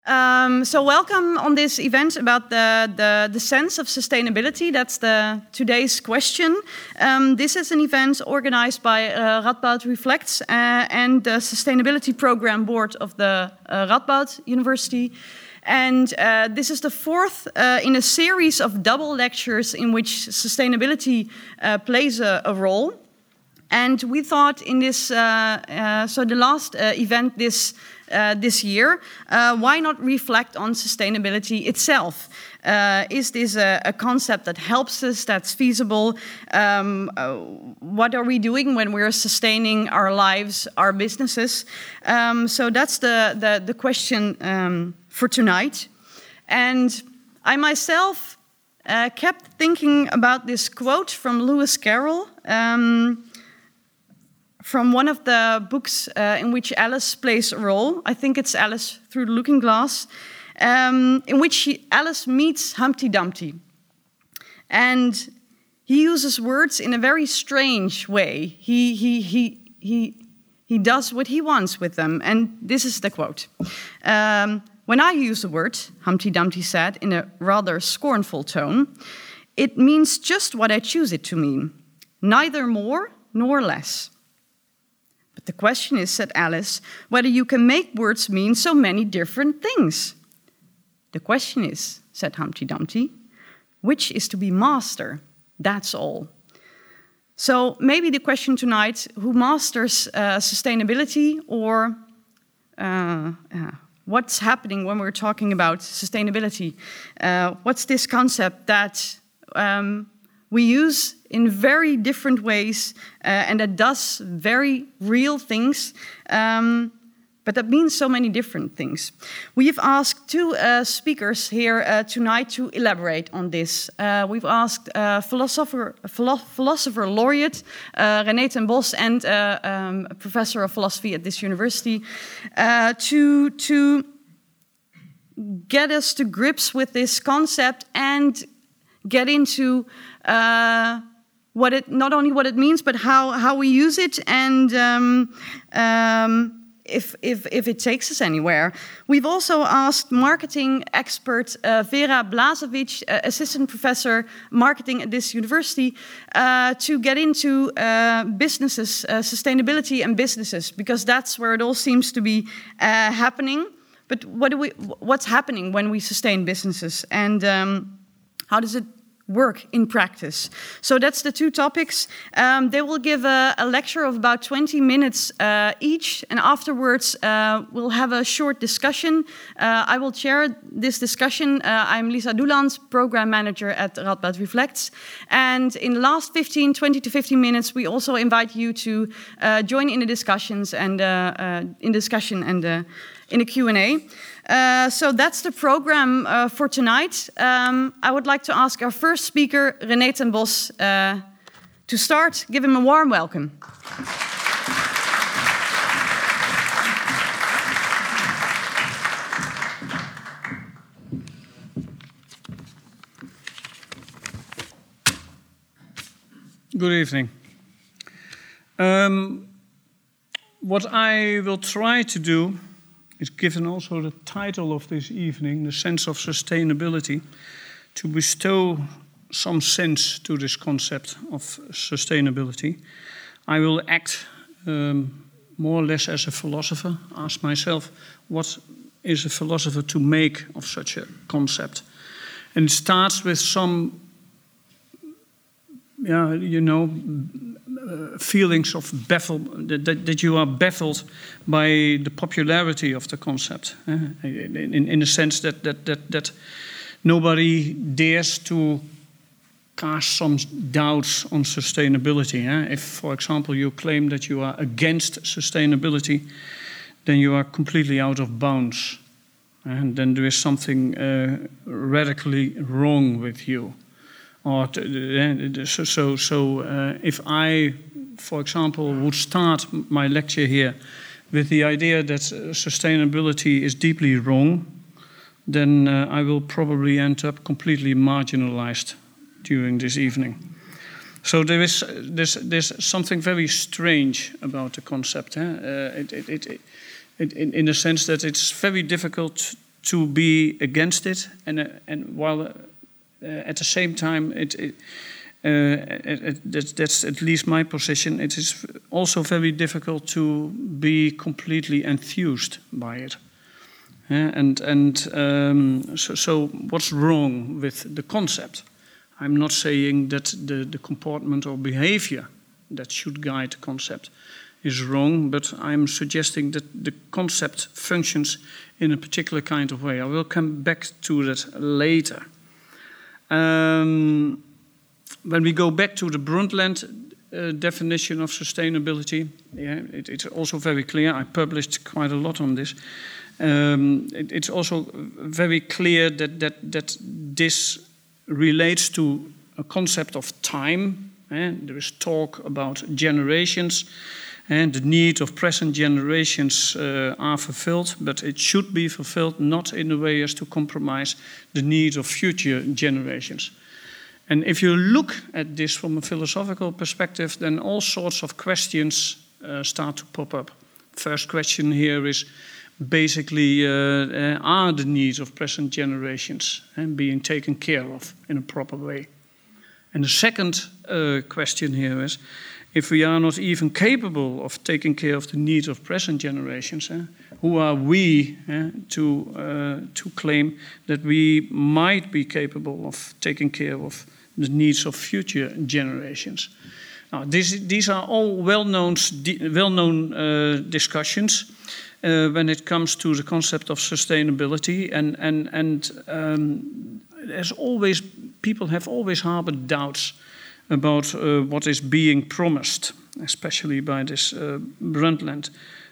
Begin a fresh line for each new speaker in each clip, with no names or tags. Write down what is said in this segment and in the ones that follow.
So welcome on this event about the sense of sustainability. That's today's question. This is an event organized by Radboud Reflects and the Sustainability Program Board of the Radboud University. And this is the fourth in a series of double lectures in which sustainability plays a role. And we thought in this, so the last event this year, why not reflect on sustainability itself? Is this a concept that helps us, that's feasible? What are we doing when we're sustaining our lives, our businesses? So that's the question for tonight. And I myself kept thinking about this quote from Lewis Carroll, from one of the books in which Alice plays a role. I think it's Alice Through the Looking Glass, in which Alice meets Humpty Dumpty. And he uses words in a very strange way. He does what he wants with them. And this is the quote. When I use the word, Humpty Dumpty said in a rather scornful tone, it means just what I choose it to mean, neither more nor less. But the question is, said Alice, whether you can make words mean so many different things. The question is, said Humpty Dumpty, which is to be master? That's all. So maybe the question tonight, who masters sustainability, or what's happening when we're talking about sustainability? What's this concept that we use in very different ways and that does very real things, but that means so many different things. We've asked two speakers here tonight to elaborate on this. We've asked philosopher laureate René ten Bos and professor of philosophy at this university to get us to grips with this concept and get into not only what it means, but how we use it, and if it takes us anywhere. We've also asked marketing expert Vera Blažević, assistant professor marketing at this university, to get into businesses, sustainability and businesses, because that's where it all seems to be happening. But what's happening when we sustain businesses, and how does it work in practice? So that's the two topics. They will give a lecture of about 20 minutes each, and afterwards we'll have a short discussion. I will chair this discussion. I'm Lisa Doelands, program manager at Radboud Reflects. And in the last 20 to 15 minutes, we also invite you to join in the discussions and in a Q&A. So that's the program for tonight. I would like to ask our first speaker, René ten Bos, to start. Give him a warm welcome.
Good evening. What I will try to do is, given also the title of this evening, the sense of sustainability, to bestow some sense to this concept of sustainability. I will act more or less as a philosopher, ask myself, what is a philosopher to make of such a concept? And it starts with some, feelings of that you are baffled by the popularity of the concept, in a sense that nobody dares to cast some doubts on sustainability. If, for example, you claim that you are against sustainability, then you are completely out of bounds, and then there is something radically wrong with you. Or if I, for example, would start my lecture here with the idea that sustainability is deeply wrong, then I will probably end up completely marginalized during this evening. So there's something very strange about the concept, in the sense that it's very difficult to be against it, and while at the same time that's at least my position. It is also very difficult to be completely enthused by it. So what's wrong with the concept? I'm not saying that the comportment or behavior that should guide the concept is wrong, but I'm suggesting that the concept functions in a particular kind of way. I will come back to that later. When we go back to the Brundtland definition of sustainability, it's also very clear. I published quite a lot on this. It's also very clear that this relates to a concept of time. There is talk about generations, and the need of present generations are fulfilled, but it should be fulfilled not in a way as to compromise the needs of future generations. And if you look at this from a philosophical perspective, then all sorts of questions start to pop up. First question here is basically, are the needs of present generations being taken care of in a proper way? And the second question here is, if we are not even capable of taking care of the needs of present generations, who are we to claim that we might be capable of taking care of the needs of future generations? Now, these are all well-known discussions when it comes to the concept of sustainability, and as always, people have always harbored doubts about what is being promised, especially by this Brundtland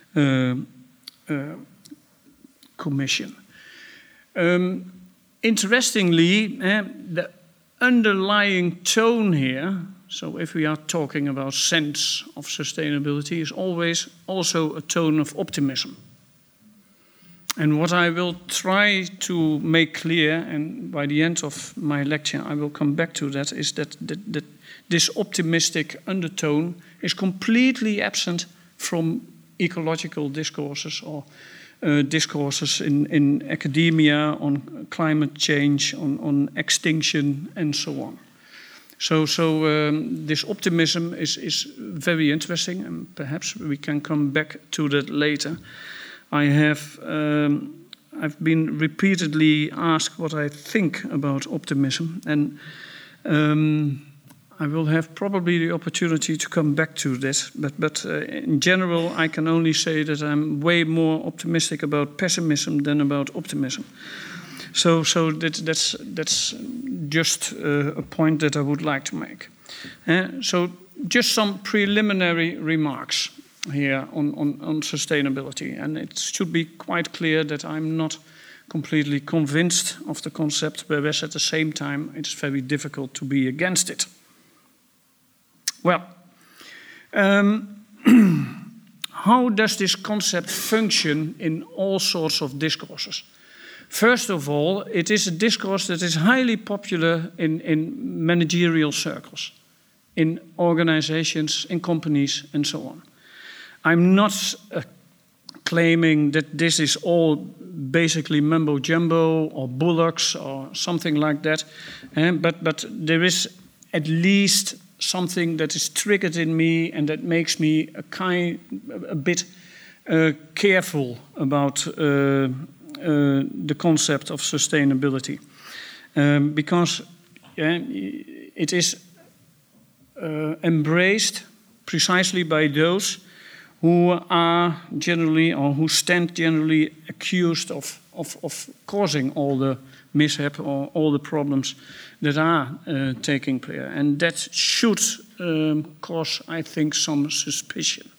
Commission. Interestingly, the underlying tone here, so if we are talking about sense of sustainability, is always also a tone of optimism. And what I will try to make clear, and by the end of my lecture I will come back to that, is that this optimistic undertone is completely absent from ecological discourses or discourses in academia on climate change, on extinction, and so on. So this optimism is very interesting, and perhaps we can come back to that later. I've been repeatedly asked what I think about optimism, and I will have probably the opportunity to come back to this, but in general I can only say that I'm way more optimistic about pessimism than about optimism. So that's just a point that I would like to make. So just some preliminary remarks here on sustainability, and it should be quite clear that I'm not completely convinced of the concept, whereas at the same time it's very difficult to be against it. Well, how does this concept function in all sorts of discourses? First of all, it is a discourse that is highly popular in managerial circles, in organizations, in companies, and so on. I'm not claiming that this is all basically mumbo-jumbo or bullocks or something like that, but there is at least something that is triggered in me and that makes me a bit careful about the concept of sustainability, because it is embraced precisely by those who are generally, or who stand generally accused of causing all the mishap or all the problems that are taking place. And that should cause, I think, some suspicion.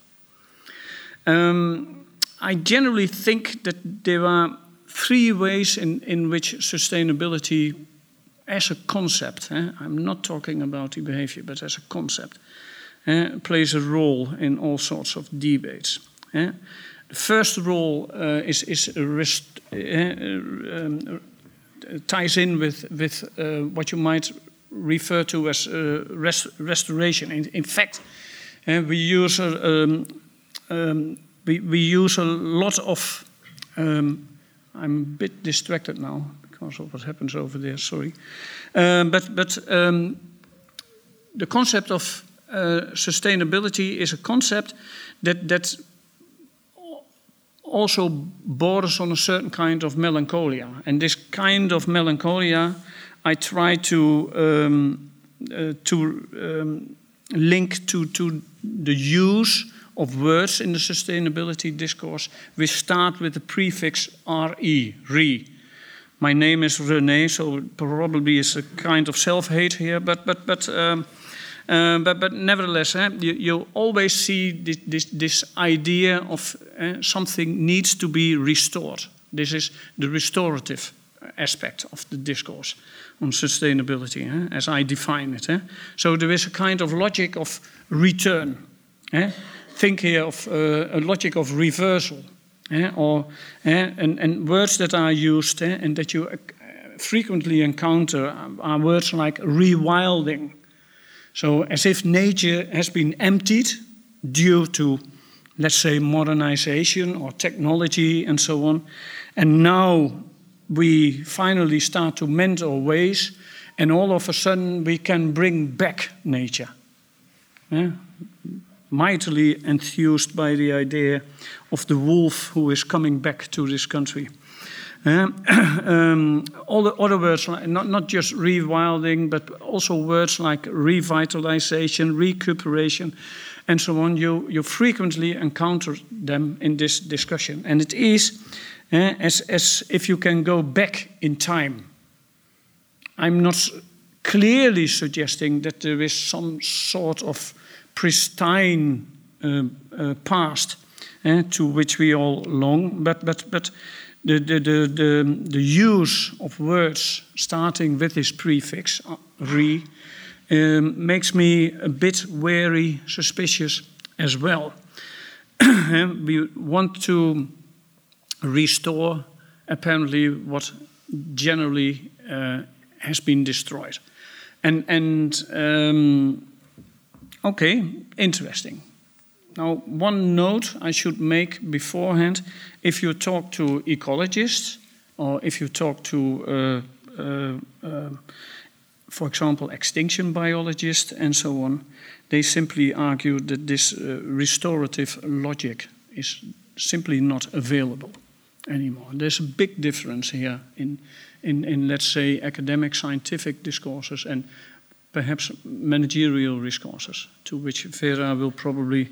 I generally think that there are three ways in which sustainability as a concept, I'm not talking about the behavior, but as a concept, plays a role in all sorts of debates. The first role ties in with what you might refer to as restoration. In fact, we use a lot of I'm a bit distracted now because of what happens over there, sorry. But the concept of sustainability is a concept that also borders on a certain kind of melancholia. And this kind of melancholia I try to link to the use of words in the sustainability discourse, which start with the prefix RE, re. My name is René, so probably is a kind of self-hate here, but nevertheless, you always see this idea of something needs to be restored. This is the restorative aspect of the discourse on sustainability, as I define it. So there is a kind of logic of return. Think here of a logic of reversal, and words that are used and that you frequently encounter are words like rewilding. So as if nature has been emptied due to, let's say, modernization or technology and so on, and now we finally start to mend our ways, and all of a sudden we can bring back nature. Mightily enthused by the idea of the wolf who is coming back to this country. All the other words, not just rewilding, but also words like revitalization, recuperation, and so on, you frequently encounter them in this discussion. And it is as if you can go back in time. I'm not clearly suggesting that there is some sort of pristine past to which we all long, but the use of words starting with this prefix re makes me a bit wary, suspicious as well. We want to restore apparently what generally has been destroyed, and okay, interesting. Now, one note I should make beforehand: if you talk to ecologists, or if you talk to, for example, extinction biologists and so on, they simply argue that this restorative logic is simply not available anymore. There's a big difference here in let's say, academic scientific discourses and perhaps managerial discourses, to which Vera will probably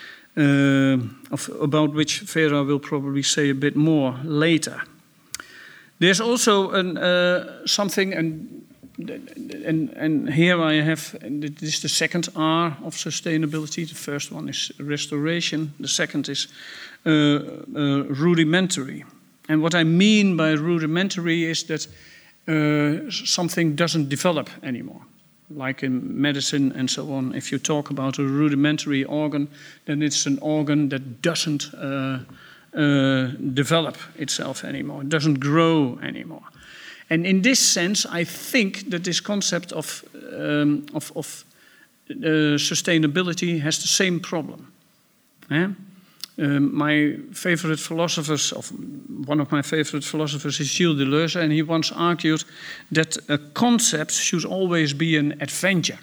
about which Vera will probably say a bit more later. There's also something, and here I have, this is the second R of sustainability. The first one is restoration. The second is rudimentary. And what I mean by rudimentary is that something doesn't develop anymore. Like in medicine and so on, if you talk about a rudimentary organ, then it's an organ that doesn't develop itself anymore, doesn't grow anymore. And in this sense, I think that this concept of sustainability has the same problem. My favorite philosophers, one of my favorite philosophers is Gilles Deleuze, and he once argued that a concept should always be an adventure.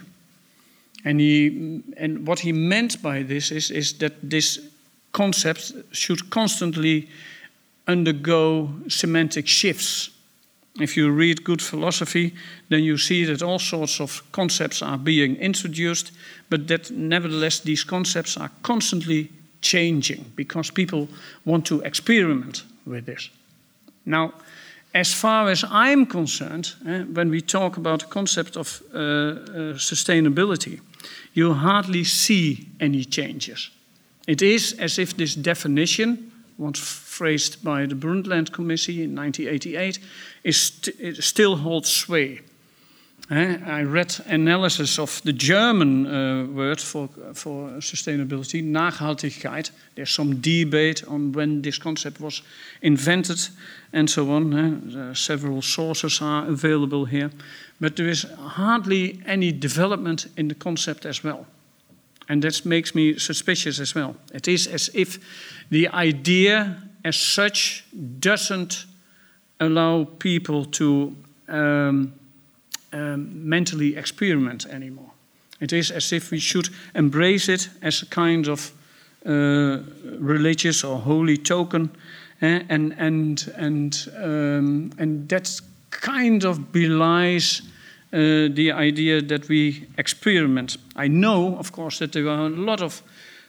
And what he meant by this is that this concept should constantly undergo semantic shifts. If you read good philosophy, then you see that all sorts of concepts are being introduced, but that nevertheless these concepts are constantly changing because people want to experiment with this. Now, as far as I'm concerned, when we talk about the concept of sustainability, you hardly see any changes. It is as if this definition, once phrased by the Brundtland Committee in 1988, it still holds sway. I read analysis of the German word for sustainability, Nachhaltigkeit. There's some debate on when this concept was invented and so on. Several sources are available here. But there is hardly any development in the concept as well. And that makes me suspicious as well. It is as if the idea as such doesn't allow people to mentally experiment anymore. It is as if we should embrace it as a kind of religious or holy token, and that kind of belies the idea that we experiment. I know, of course, that there are a lot of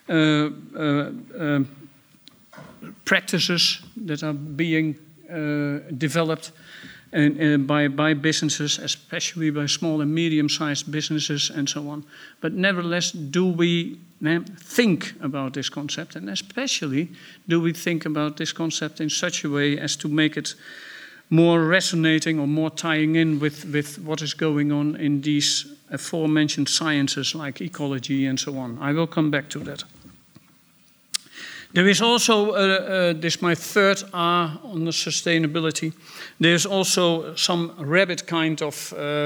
practices that are being developed by businesses, especially by small and medium-sized businesses and so on. But nevertheless, do we think about this concept, and especially do we think about this concept in such a way as to make it more resonating or more tying in with what is going on in these aforementioned sciences like ecology and so on. I will come back to that. There is also, this is my third R on the sustainability, there's also some rabbit kind of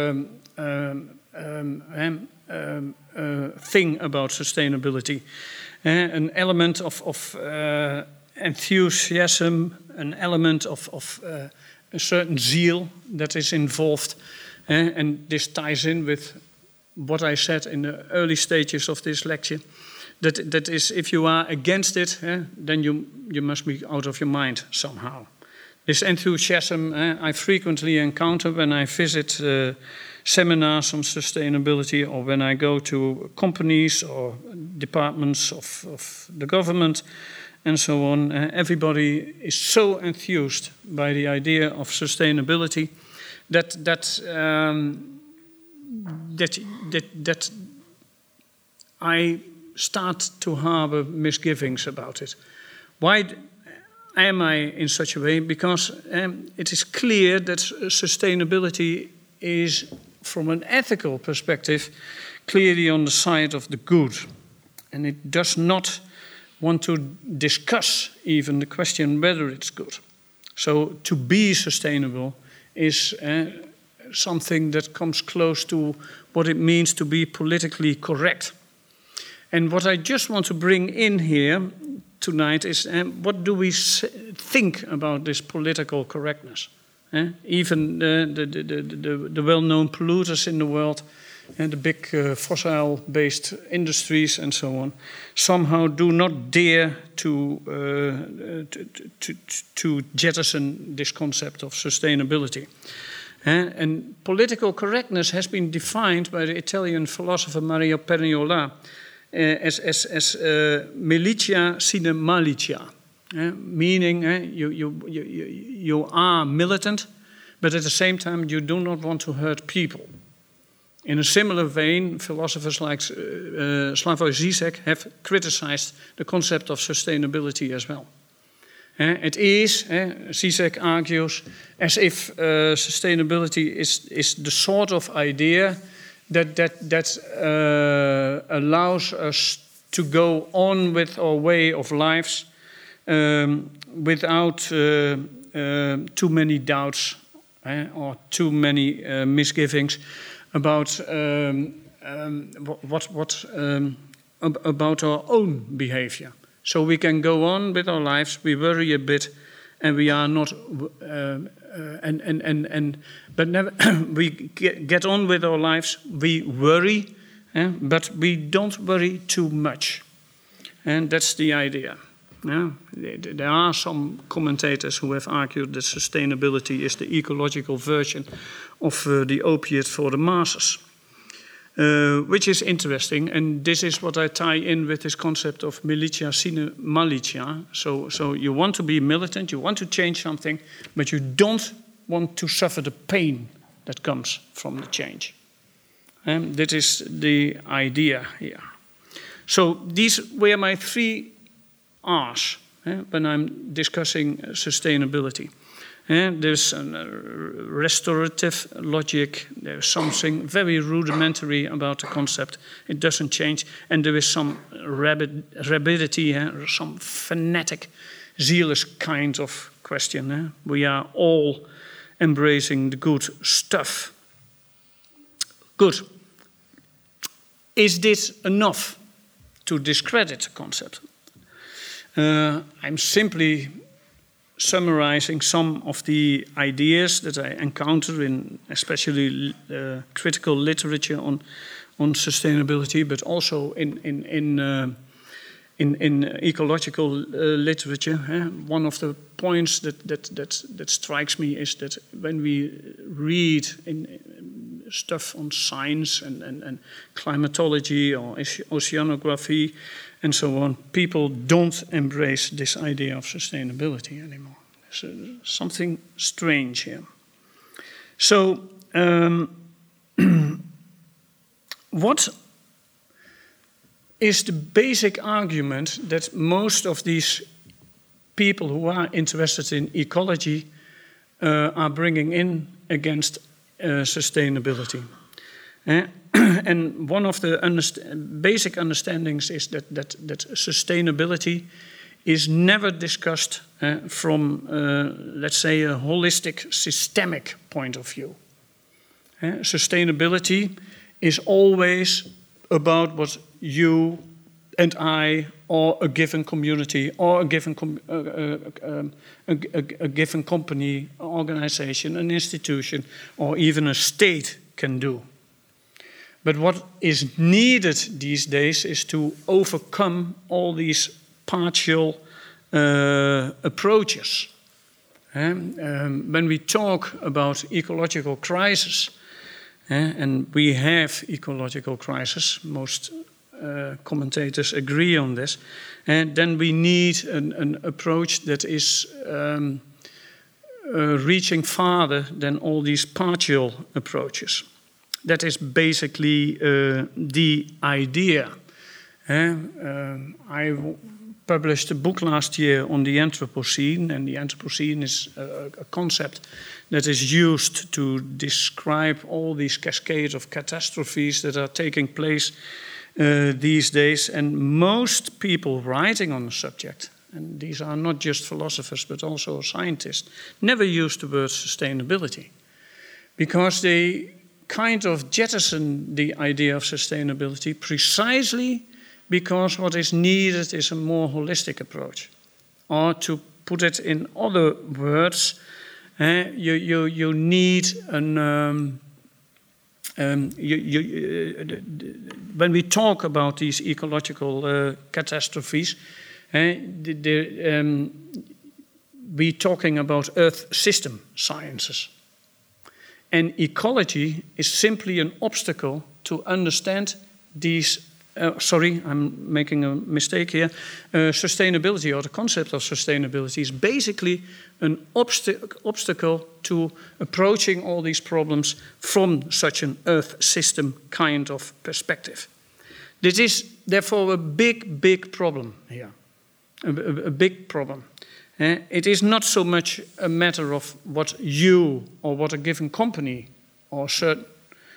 thing about sustainability. An element of enthusiasm, an element of a certain zeal that is involved. And this ties in with what I said in the early stages of this lecture. That is, if you are against it, then you must be out of your mind somehow. This enthusiasm I frequently encounter when I visit seminars on sustainability, or when I go to companies or departments of the government and so on. Everybody is so enthused by the idea of sustainability that I start to harbor misgivings about it. Why am I in such a way? Because it is clear that sustainability is, from an ethical perspective, clearly on the side of the good. And it does not want to discuss even the question whether it's good. So to be sustainable is something that comes close to what it means to be politically correct. And what I just want to bring in here tonight is what do we think about this political correctness? Even the well-known polluters in the world, and the big fossil-based industries and so on, somehow do not dare to jettison this concept of sustainability. And political correctness has been defined by the Italian philosopher Mario Pagnola as militia sine malicia, meaning you are militant, but at the same time you do not want to hurt people. In a similar vein, philosophers like Slavoj Žižek have criticized the concept of sustainability as well. It is, Žižek argues, as if sustainability is the sort of idea that allows us to go on with our way of lives without too many doubts or too many misgivings about about our own behavior. So we can go on with our lives. We worry a bit, and we are not, but never we get on with our lives. We worry, but we don't worry too much, and that's the idea. There are some commentators who have argued that sustainability is the ecological version of the opiate for the masses, which is interesting. And this is what I tie in with this concept of militia sine malicia. So you want to be militant, you want to change something, but you don't want to suffer the pain that comes from the change. That is the idea here. So these were my 3 R's when I'm discussing sustainability. There's a restorative logic, there's something very rudimentary about the concept. It doesn't change, and there is some rabidity, some fanatic, zealous kind of question. We are all embracing the good stuff. Good. Is this enough to discredit the concept? I'm simply summarizing some of the ideas that I encounter in especially critical literature on sustainability, but also in ecological literature. One of the points that strikes me is that when we read in stuff on science and climatology or oceanography and so on, people don't embrace this idea of sustainability anymore. So something strange here. So what is the basic argument that most of these people who are interested in ecology are bringing in against sustainability? And one of the basic understandings is that sustainability is never discussed from, let's say, a holistic, systemic point of view. Sustainability is always about what you and I, or a given community, or a given company, organization, an institution, or even a state can do. But what is needed these days is to overcome all these partial approaches. When we talk about ecological crisis, and we have ecological crisis, most commentators agree on this, and then we need an approach that is reaching farther than all these partial approaches. That is basically the idea. I published a book last year on the Anthropocene, and the Anthropocene is a concept that is used to describe all these cascades of catastrophes that are taking place these days. And most people writing on the subject, and these are not just philosophers but also scientists, never use the word sustainability, because they kind of jettison the idea of sustainability precisely because what is needed is a more holistic approach. Or to put it in other words, you need an... when we talk about these ecological catastrophes, we're talking about Earth system sciences. And ecology is simply an obstacle to understand these. Sorry, I'm making a mistake here. Sustainability, or the concept of sustainability, is basically an obstacle to approaching all these problems from such an Earth system kind of perspective. This is therefore a big problem here, a big problem. It is not so much a matter of what you or what a given company or certain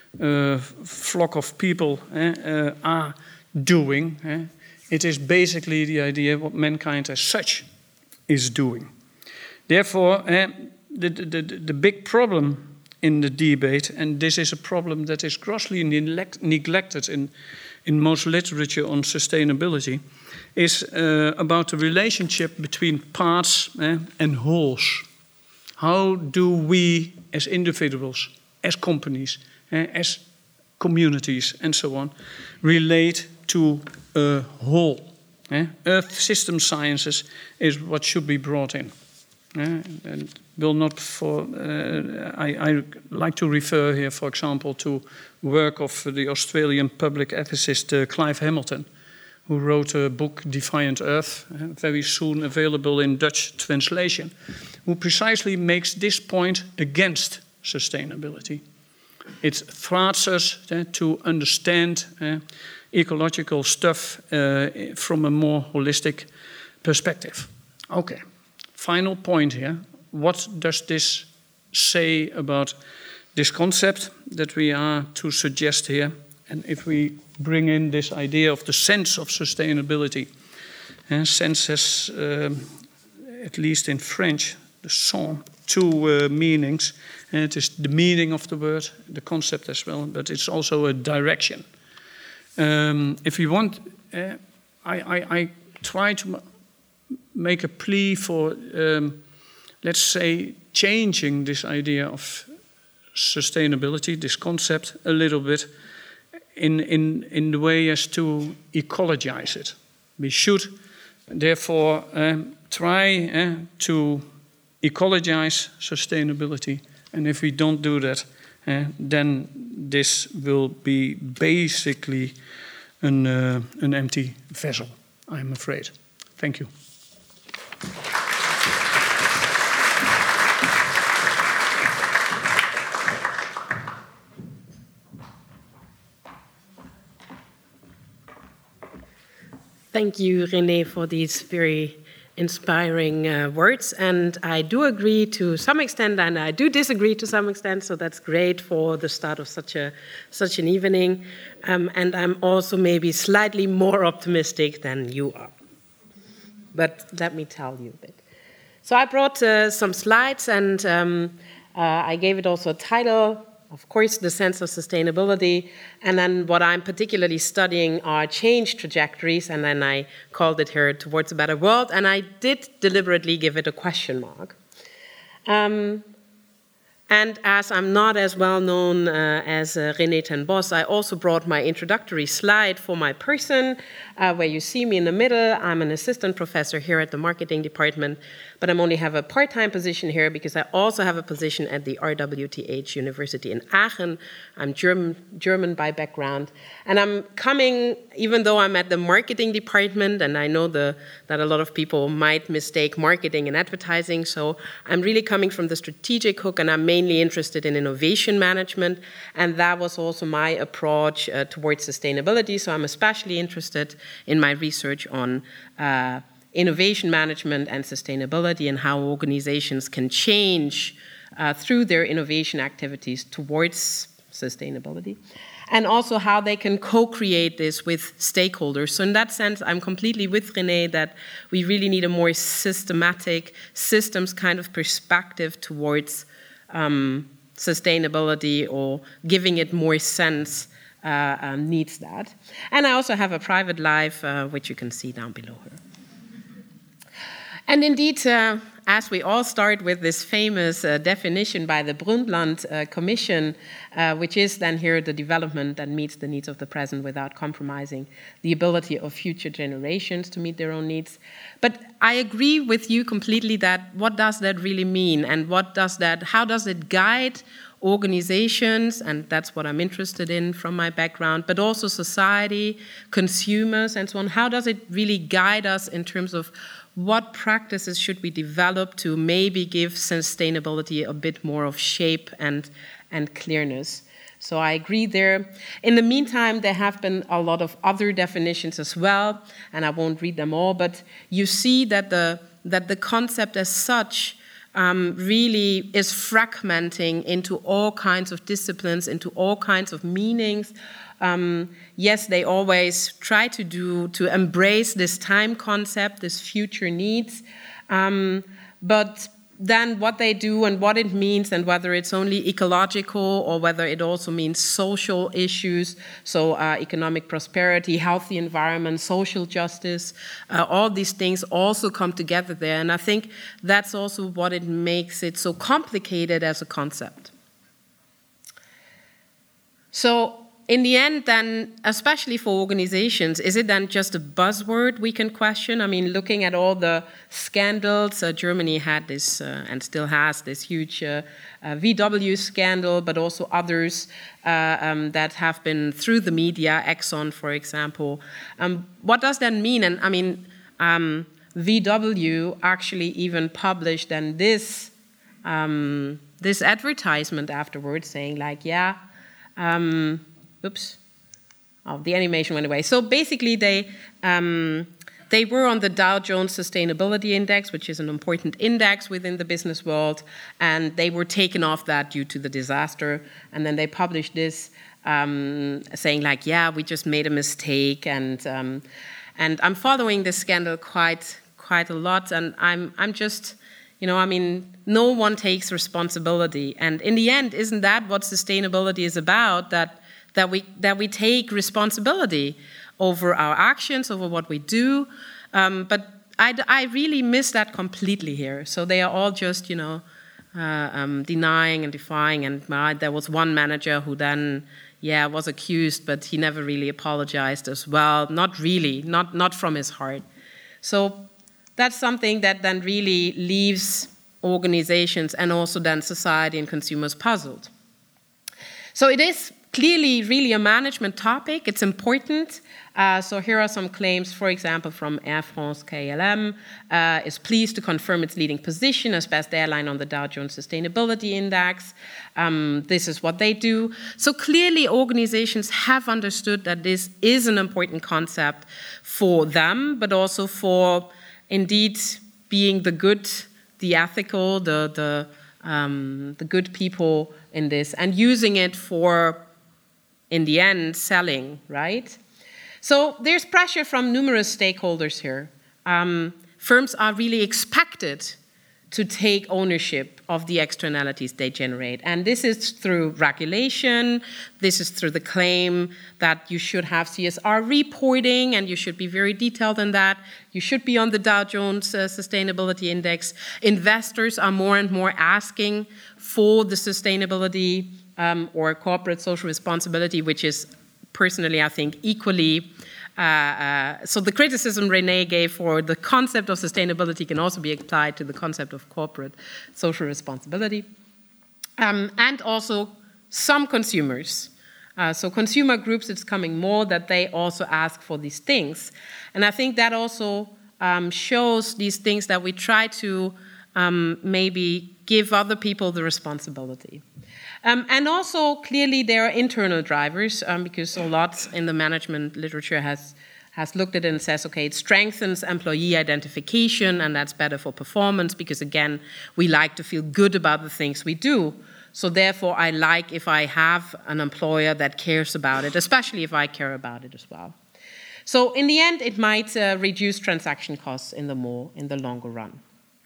flock of people are doing. It is basically the idea what mankind as such is doing. Therefore, the big problem in the debate, and this is a problem that is grossly neglected in most literature on sustainability, is about the relationship between parts and wholes. How do we as individuals, as companies, as communities and so on, relate to a whole? Earth system sciences is what should be brought in. And will not I like to refer here, for example, to work of the Australian public ethicist Clive Hamilton, who wrote a book, Defiant Earth, very soon available in Dutch translation, who precisely makes this point against sustainability. It thwarts us to understand ecological stuff from a more holistic perspective. Okay, final point here. What does this say about this concept that we are to suggest here? And if we bring in this idea of the sense of sustainability, sense has, at least in French, the song, two meanings. And it is the meaning of the word, the concept as well, but it's also a direction. If you want, I try to make a plea for let's say, changing this idea of sustainability, this concept, a little bit in the way as to ecologize it. We should, therefore, try to ecologize sustainability. And if we don't do that, then this will be basically an empty vessel, I'm afraid. Thank you.
Thank you, René, for these very inspiring words. And I do agree to some extent, and I do disagree to some extent, so that's great for the start of such an evening. And I'm also maybe slightly more optimistic than you are. But let me tell you a bit. So I brought some slides, and I gave it also a title. Of course, the sense of sustainability, and then what I'm particularly studying are change trajectories, and then I called it here Towards a Better World, and I did deliberately give it a question mark. And as I'm not as well known as René ten Bos, I also brought my introductory slide for my person, where you see me in the middle. I'm an assistant professor here at the marketing department, but I only have a part-time position here because I also have a position at the RWTH University in Aachen. I'm German by background, and I'm coming, even though I'm at the marketing department, and I know that a lot of people might mistake marketing and advertising, so I'm really coming from the strategic hook, and I'm mainly interested in innovation management, and that was also my approach towards sustainability. So I'm especially interested in my research on innovation management and sustainability and how organizations can change through their innovation activities towards sustainability, and also how they can co-create this with stakeholders. So in that sense, I'm completely with René that we really need a more systematic systems kind of perspective towards sustainability, or giving it more sense needs that. And I also have a private life, which you can see down below here. And indeed, as we all start with this famous definition by the Brundtland Commission, which is then here the development that meets the needs of the present without compromising the ability of future generations to meet their own needs. But I agree with you completely that what does that really mean, and how does it guide organizations, and that's what I'm interested in from my background, but also society, consumers, and so on. How does it really guide us in terms of what practices should we develop to maybe give sustainability a bit more of shape and clearness? So I agree there. In the meantime, there have been a lot of other definitions as well, and I won't read them all, but you see that the concept as such really is fragmenting into all kinds of disciplines, into all kinds of meanings. Yes, they always try to embrace this time concept, this future needs, but then what they do and what it means, and whether it's only ecological or whether it also means social issues, so economic prosperity, healthy environment, social justice, all these things also come together there. And I think that's also what it makes it so complicated as a concept. So in the end, then, especially for organizations, is it then just a buzzword we can question? I mean, looking at all the scandals, Germany had this and still has this huge VW scandal, but also others that have been through the media, Exxon, for example. What does that mean? And I mean, VW actually even published then this advertisement afterwards saying like, oops. Oh, the animation went away. So basically, they were on the Dow Jones Sustainability Index, which is an important index within the business world, and they were taken off that due to the disaster. And then they published this saying like, we just made a mistake, and I'm following this scandal quite a lot, and I'm just, no one takes responsibility. And in the end, isn't that what sustainability is about? That we take responsibility over our actions, over what we do. But I really miss that completely here. So they are all just, denying and defying. And there was one manager who then, was accused, but he never really apologized as well. Not really, not from his heart. So that's something that then really leaves organizations and also then society and consumers puzzled. So it is clearly really a management topic. It's important. So here are some claims, for example, from Air France KLM, is pleased to confirm its leading position as best airline on the Dow Jones Sustainability Index. This is what they do. So clearly organizations have understood that this is an important concept for them, but also for indeed being the good, the ethical, the good people in this, and using it for, in the end, selling, right? So there's pressure from numerous stakeholders here. Firms are really expected to take ownership of the externalities they generate. And this is through regulation, this is through the claim that you should have CSR reporting and you should be very detailed in that. You should be on the Dow Jones Sustainability Index. Investors are more and more asking for the sustainability or corporate social responsibility, which is personally, I think, equally. So the criticism Renee gave for the concept of sustainability can also be applied to the concept of corporate social responsibility. And also some consumers. So consumer groups, it's coming more that they also ask for these things. And I think that also shows these things that we try to maybe give other people the responsibility. And also, clearly, there are internal drivers, because a lot in the management literature has looked at it and says, okay, it strengthens employee identification, and that's better for performance, because, again, we like to feel good about the things we do. So therefore, I like if I have an employer that cares about it, especially if I care about it as well. So in the end, it might reduce transaction costs in the longer run.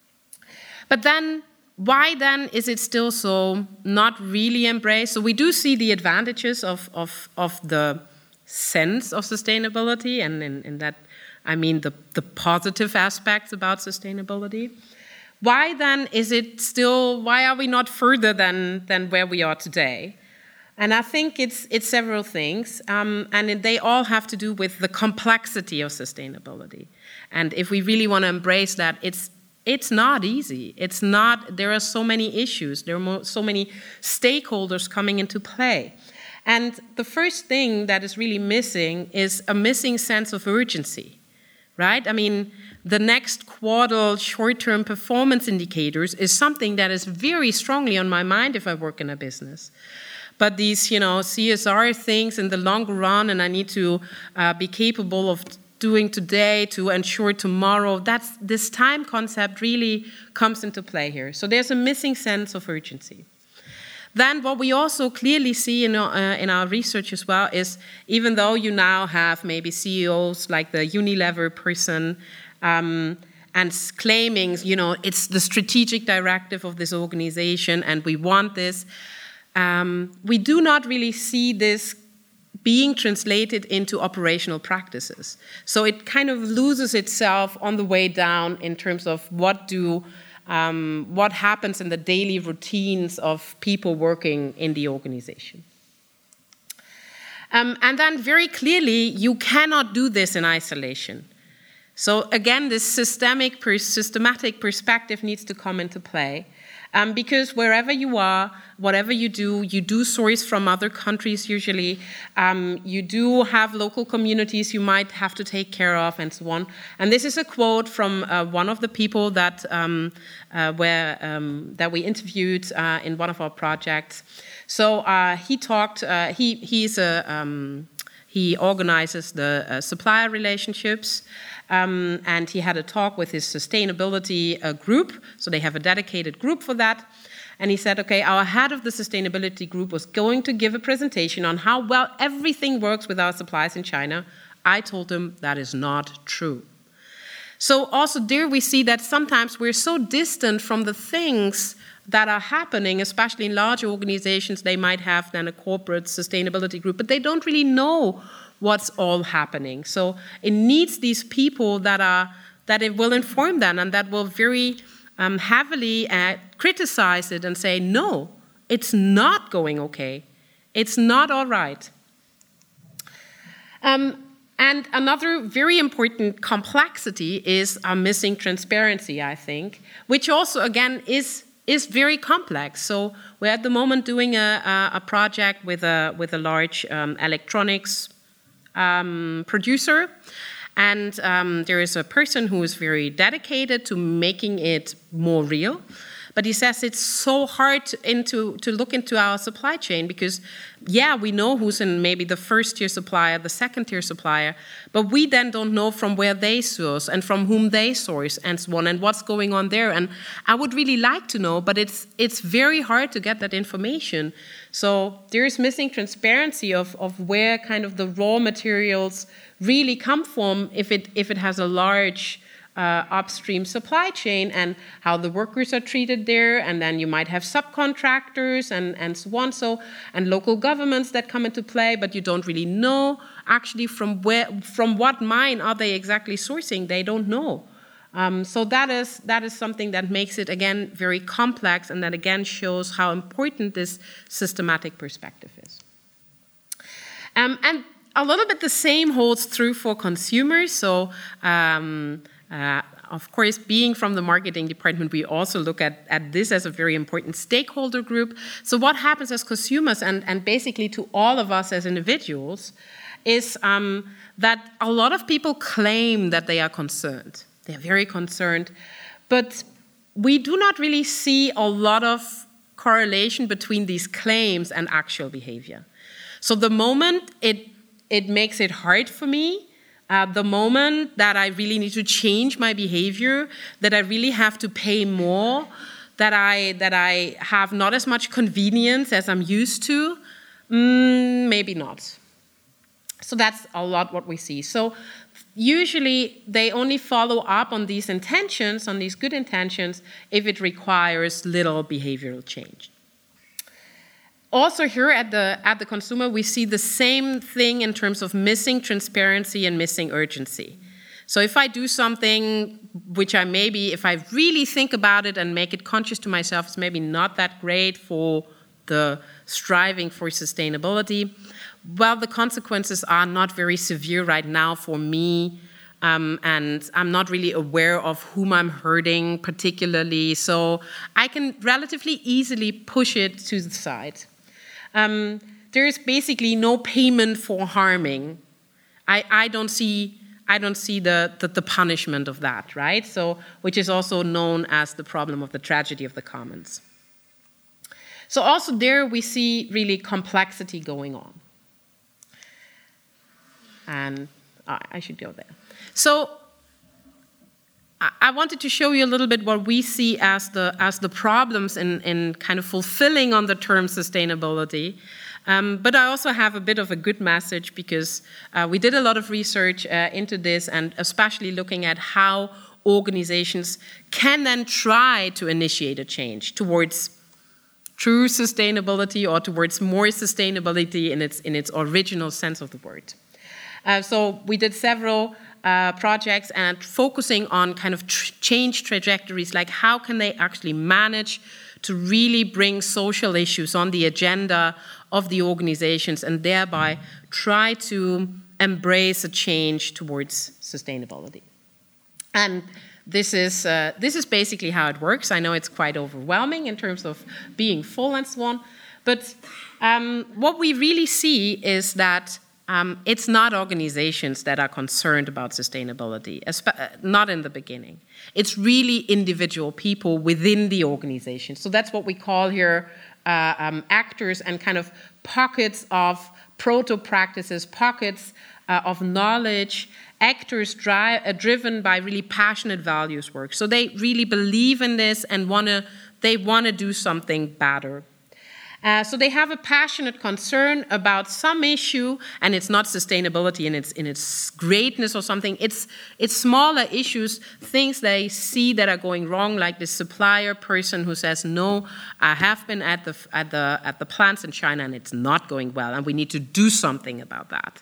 But then, why then is it still so not really embraced? So we do see the advantages of the sense of sustainability, and in that I mean the positive aspects about sustainability. Why then is it still, why are we not further than where we are today? And I think it's several things, and they all have to do with the complexity of sustainability. And if we really want to embrace that, it's not easy. It's not, there are so many issues. There are so many stakeholders coming into play. And the first thing that is really missing is a missing sense of urgency, right? I mean, the next quarter short-term performance indicators is something that is very strongly on my mind if I work in a business. But these, CSR things in the longer run, and I need to be capable of doing today to ensure tomorrow, this time concept really comes into play here. So there's a missing sense of urgency. Then what we also clearly see in our research as well is, even though you now have maybe CEOs like the Unilever person and claiming, it's the strategic directive of this organization and we want this, we do not really see this being translated into operational practices. So it kind of loses itself on the way down in terms of what happens in the daily routines of people working in the organization. And then very clearly, you cannot do this in isolation. So again, this systematic perspective needs to come into play. Because wherever you are, whatever you do source from other countries usually. You do have local communities you might have to take care of and so on. And this is a quote from one of the people that we interviewed in one of our projects. So he talked, he organizes the supplier relationships, and he had a talk with his sustainability group. So they have a dedicated group for that. And he said, okay, our head of the sustainability group was going to give a presentation on how well everything works with our suppliers in China. I told him that is not true. So also there we see that sometimes we're so distant from the things that are happening, especially in large organizations. They might have then a corporate sustainability group, but they don't really know what's all happening. So it needs these people that that it will inform them and that will very heavily criticize it and say, no, it's not going okay. It's not all right. And another very important complexity is missing transparency, I think, which also, again, is very complex. So we're at the moment doing a project with a large electronics producer, and there is a person who is very dedicated to making it more real. But he says it's so hard to look into our supply chain because, yeah, we know who's in maybe the first-tier supplier, the second-tier supplier, but we then don't know from where they source and from whom they source and so on and what's going on there. And I would really like to know, but it's very hard to get that information. So there is missing transparency of where kind of the raw materials really come from if it has a large upstream supply chain and how the workers are treated there, and then you might have subcontractors and so on, and local governments that come into play, but you don't really know actually from what mine are they exactly sourcing. They don't know. So that is something that makes it again very complex, and that again shows how important this systematic perspective is. And a little bit the same holds true for consumers. So. Of course, being from the marketing department, we also look at this as a very important stakeholder group. So what happens as consumers and basically to all of us as individuals is that a lot of people claim that they are concerned. They're very concerned. But we do not really see a lot of correlation between these claims and actual behavior. So the moment it makes it hard for me, the moment that I really need to change my behavior, that I really have to pay more, that I have not as much convenience as I'm used to, maybe not. So that's a lot what we see. So usually they only follow up on these intentions, on these good intentions, if it requires little behavioral change. Also here at the consumer, we see the same thing in terms of missing transparency and missing urgency. So if I do something which I maybe, if I really think about it and make it conscious to myself, it's maybe not that great for the striving for sustainability, well, the consequences are not very severe right now for me, and I'm not really aware of whom I'm hurting particularly, so I can relatively easily push it to the side. There is basically no payment for harming. I don't see the punishment of that, right? So, which is also known as the problem of the tragedy of the commons. So also there we see really complexity going on. And I should go there. So I wanted to show you a little bit what we see as the problems in kind of fulfilling on the term sustainability. But I also have a bit of a good message because we did a lot of research into this, and especially looking at how organizations can then try to initiate a change towards true sustainability or towards more sustainability in its original sense of the word. So we did several projects and focusing on kind of change trajectories, like how can they actually manage to really bring social issues on the agenda of the organizations and thereby try to embrace a change towards sustainability. And this is basically how it works. I know it's quite overwhelming in terms of being full and so on, but what we really see is that it's not organizations that are concerned about sustainability, not in the beginning. It's really individual people within the organization. So that's what we call here actors and kind of pockets of proto-practices, pockets of knowledge, actors driven by really passionate values work. So they really believe in this and they want to do something better. So they have a passionate concern about some issue, and it's not sustainability in its greatness or something. It's smaller issues, things they see that are going wrong, like the supplier person who says, "No, I have been at the plants in China, and it's not going well, and we need to do something about that."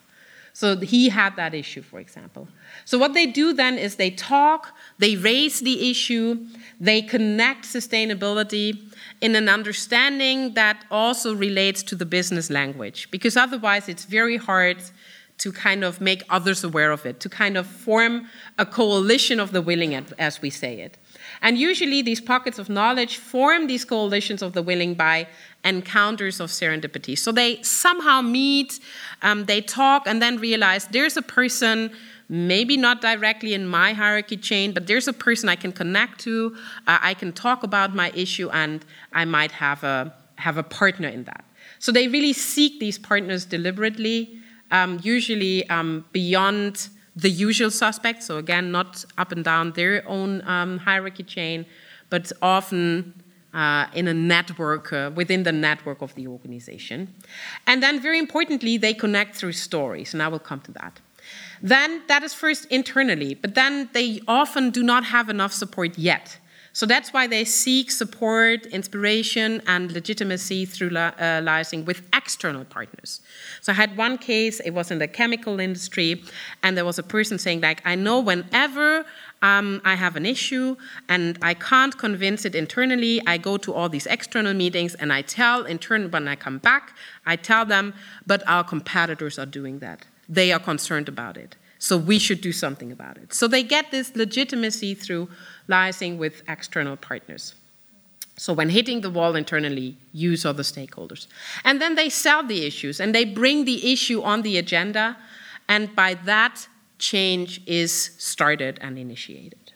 So he had that issue, for example. So what they do then is they talk, they raise the issue, they connect sustainability in an understanding that also relates to the business language, because otherwise it's very hard to kind of make others aware of it, to kind of form a coalition of the willing, as we say it. And usually these pockets of knowledge form these coalitions of the willing by encounters of serendipity. So they somehow meet, they talk, and then realize there's a person, maybe not directly in my hierarchy chain, but there's a person I can connect to, I can talk about my issue, and I might have a partner in that. So they really seek these partners deliberately, usually beyond the usual suspects, so again, not up and down their own hierarchy chain, but often in a network, within the network of the organization. And then very importantly, they connect through stories, and I will come to that. Then that is first internally, but then they often do not have enough support yet. So that's why they seek support, inspiration, and legitimacy through liaising with external partners. So I had one case, it was in the chemical industry, and there was a person saying, like, I know whenever I have an issue and I can't convince it internally, I go to all these external meetings and I tell when I come back, I tell them, but our competitors are doing that. They are concerned about it. So we should do something about it. So they get this legitimacy through liaising with external partners. So when hitting the wall internally, use other stakeholders. And then they sell the issues and they bring the issue on the agenda, and by that, change is started and initiated.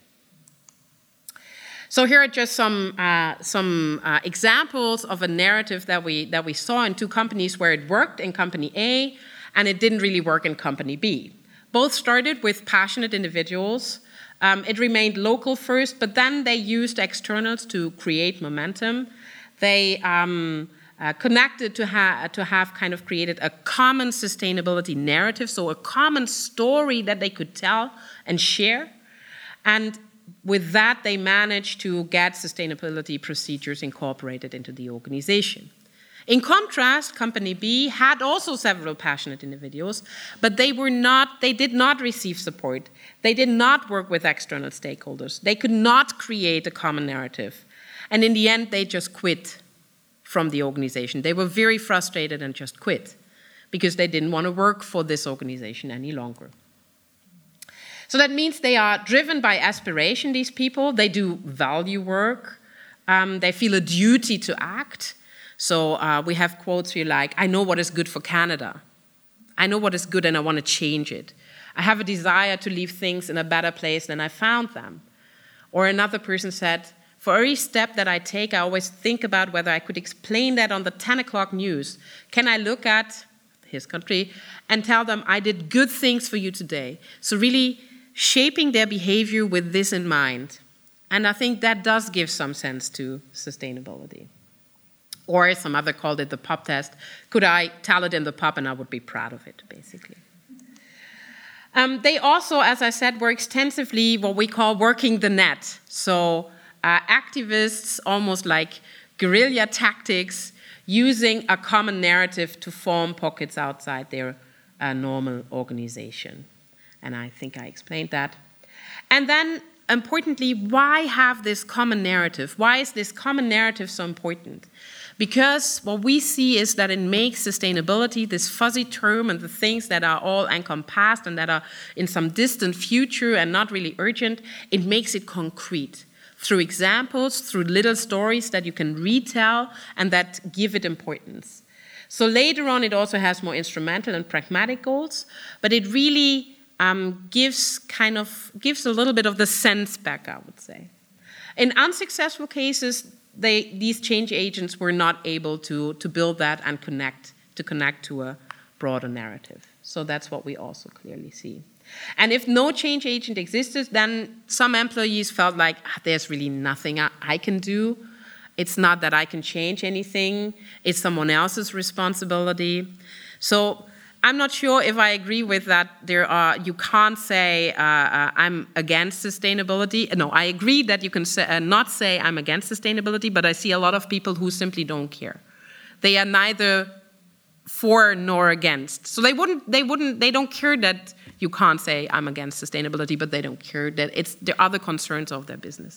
So here are just some examples of a narrative that we saw in two companies where it worked in company A and it didn't really work in company B. Both started with passionate individuals. It remained local first, but then they used externals to create momentum. They connected to have kind of created a common sustainability narrative, so a common story that they could tell and share. And with that, they managed to get sustainability procedures incorporated into the organization. In contrast, Company B had also several passionate individuals, but they did not receive support. They did not work with external stakeholders. They could not create a common narrative. And in the end, they just quit from the organization. They were very frustrated and just quit because they didn't want to work for this organization any longer. So that means they are driven by aspiration, these people. They do value work. They feel a duty to act. So we have quotes here like, I know what is good for Canada. I know what is good and I want to change it. I have a desire to leave things in a better place than I found them. Or another person said, for every step that I take, I always think about whether I could explain that on the 10 o'clock news. Can I look at his country and tell them I did good things for you today? So really shaping their behavior with this in mind. And I think that does give some sense to sustainability. Or some other called it the pub test. Could I tell it in the pub and I would be proud of it, basically. They also, as I said, were extensively what we call working the net. So activists, almost like guerrilla tactics, using a common narrative to form pockets outside their normal organization. And I think I explained that. And then, importantly, why have this common narrative? Why is this common narrative so important? Because what we see is that it makes sustainability, this fuzzy term, and the things that are all encompassed and that are in some distant future and not really urgent, it makes it concrete through examples, through little stories that you can retell and that give it importance. So later on, it also has more instrumental and pragmatic goals, but it really gives a little bit of the sense back, I would say. In unsuccessful cases, these change agents were not able to build that and connect to a broader narrative. So that's what we also clearly see. And if no change agent existed, then some employees felt like, there's really nothing I can do. It's not that I can change anything. It's someone else's responsibility. So I'm not sure if I agree with that. You can't say I'm against sustainability. No, I agree that you can not say I'm against sustainability, but I see a lot of people who simply don't care. They are neither for nor against. So they don't care that you can't say I'm against sustainability, but they don't care that it's the other concerns of their business.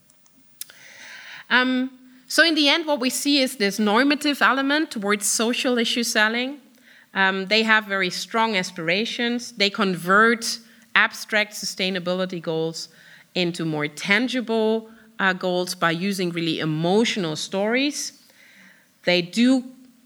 So in the end, what we see is this normative element towards social issue selling. They have very strong aspirations. They convert abstract sustainability goals into more tangible goals by using really emotional stories. They do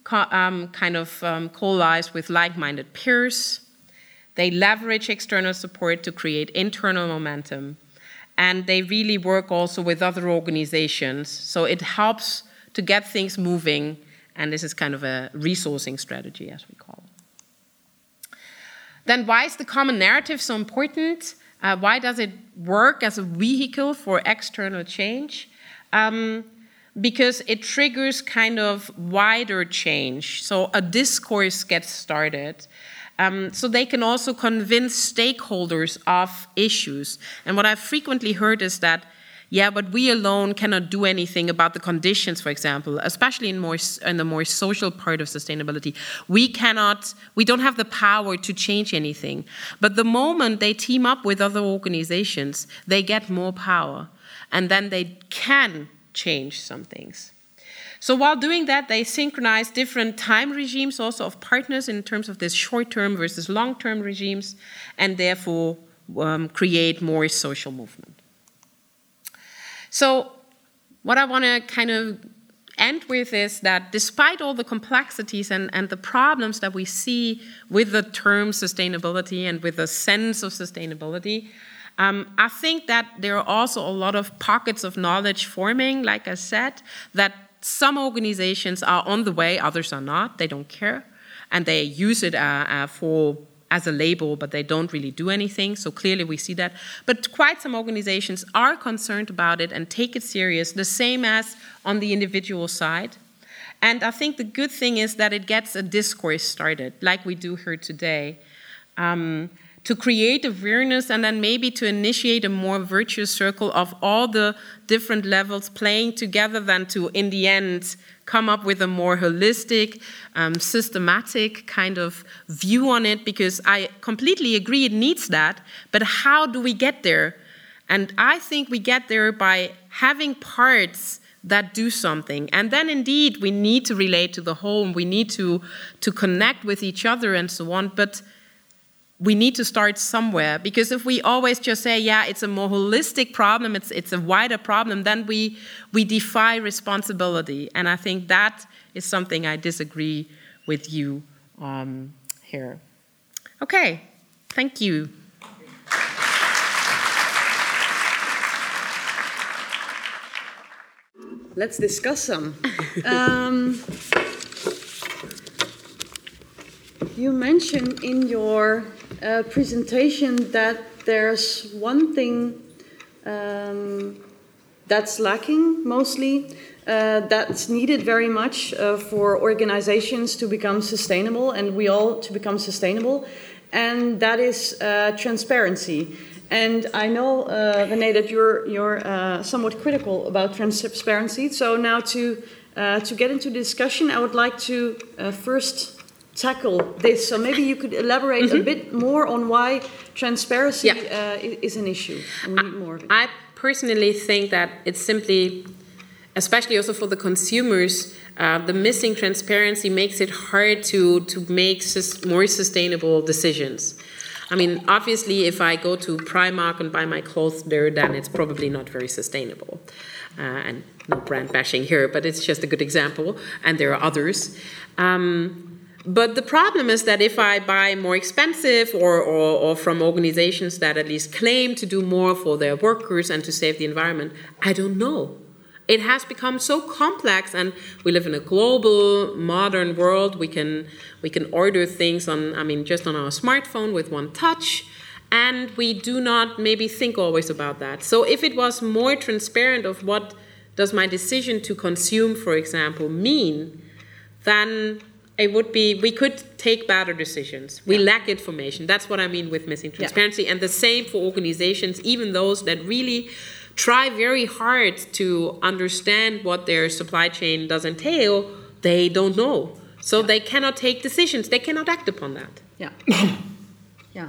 coalesce with like-minded peers. They leverage external support to create internal momentum. And they really work also with other organizations. So it helps to get things moving. And this is kind of a resourcing strategy, as we call it. Then why is the common narrative so important? Why does it work as a vehicle for external change? Because it triggers kind of wider change. So a discourse gets started. So they can also convince stakeholders of issues. And what I've frequently heard is that, yeah, but we alone cannot do anything about the conditions, for example, especially in the more social part of sustainability. We don't have the power to change anything. But the moment they team up with other organizations, they get more power. And then they can change some things. So while doing that, they synchronize different time regimes also of partners in terms of this short-term versus long-term regimes, and therefore create more social movement. So what I want to kind of end with is that despite all the complexities and the problems that we see with the term sustainability and with the sense of sustainability, I think that there are also a lot of pockets of knowledge forming, like I said, that some organizations are on the way, others are not. They don't care. And they use it as a label, but they don't really do anything. So clearly we see that. But quite some organizations are concerned about it and take it serious, the same as on the individual side. And I think the good thing is that it gets a discourse started, like we do here today, to create awareness and then maybe to initiate a more virtuous circle of all the different levels playing together than to, in the end, come up with a more holistic, systematic kind of view on it, because I completely agree it needs that, but how do we get there? And I think we get there by having parts that do something. And then indeed we need to relate to the whole, and we need to connect with each other and so on, but we need to start somewhere, because if we always just say, yeah, it's a more holistic problem, it's a wider problem, then we defy responsibility. And I think that is something I disagree with you here. Okay, thank you.
Let's discuss some. You mentioned in your presentation that there's one thing that's lacking mostly, that's needed very much for organizations to become sustainable, and we all to become sustainable, and that is transparency. And I know, René, that you're somewhat critical about transparency. So now to get into the discussion, I would like to first tackle this. So maybe you could elaborate a bit more on why transparency is an issue, and we need more of it.
I personally think that it's simply, especially also for the consumers, the missing transparency makes it hard to make more sustainable decisions. I mean, obviously, if I go to Primark and buy my clothes there, then it's probably not very sustainable. And no brand bashing here, but it's just a good example, and there are others. But the problem is that if I buy more expensive or from organizations that at least claim to do more for their workers and to save the environment, I don't know. It has become so complex, and we live in a global, modern world. We can order things just on our smartphone with one touch, and we do not maybe think always about that. So if it was more transparent of what does my decision to consume, for example, mean, then it would be, we could take better decisions. We lack information. That's what I mean with missing transparency. And the same for organizations, even those that really try very hard to understand what their supply chain does entail, they don't know. So they cannot take decisions. They cannot act upon that.
Yeah. Yeah.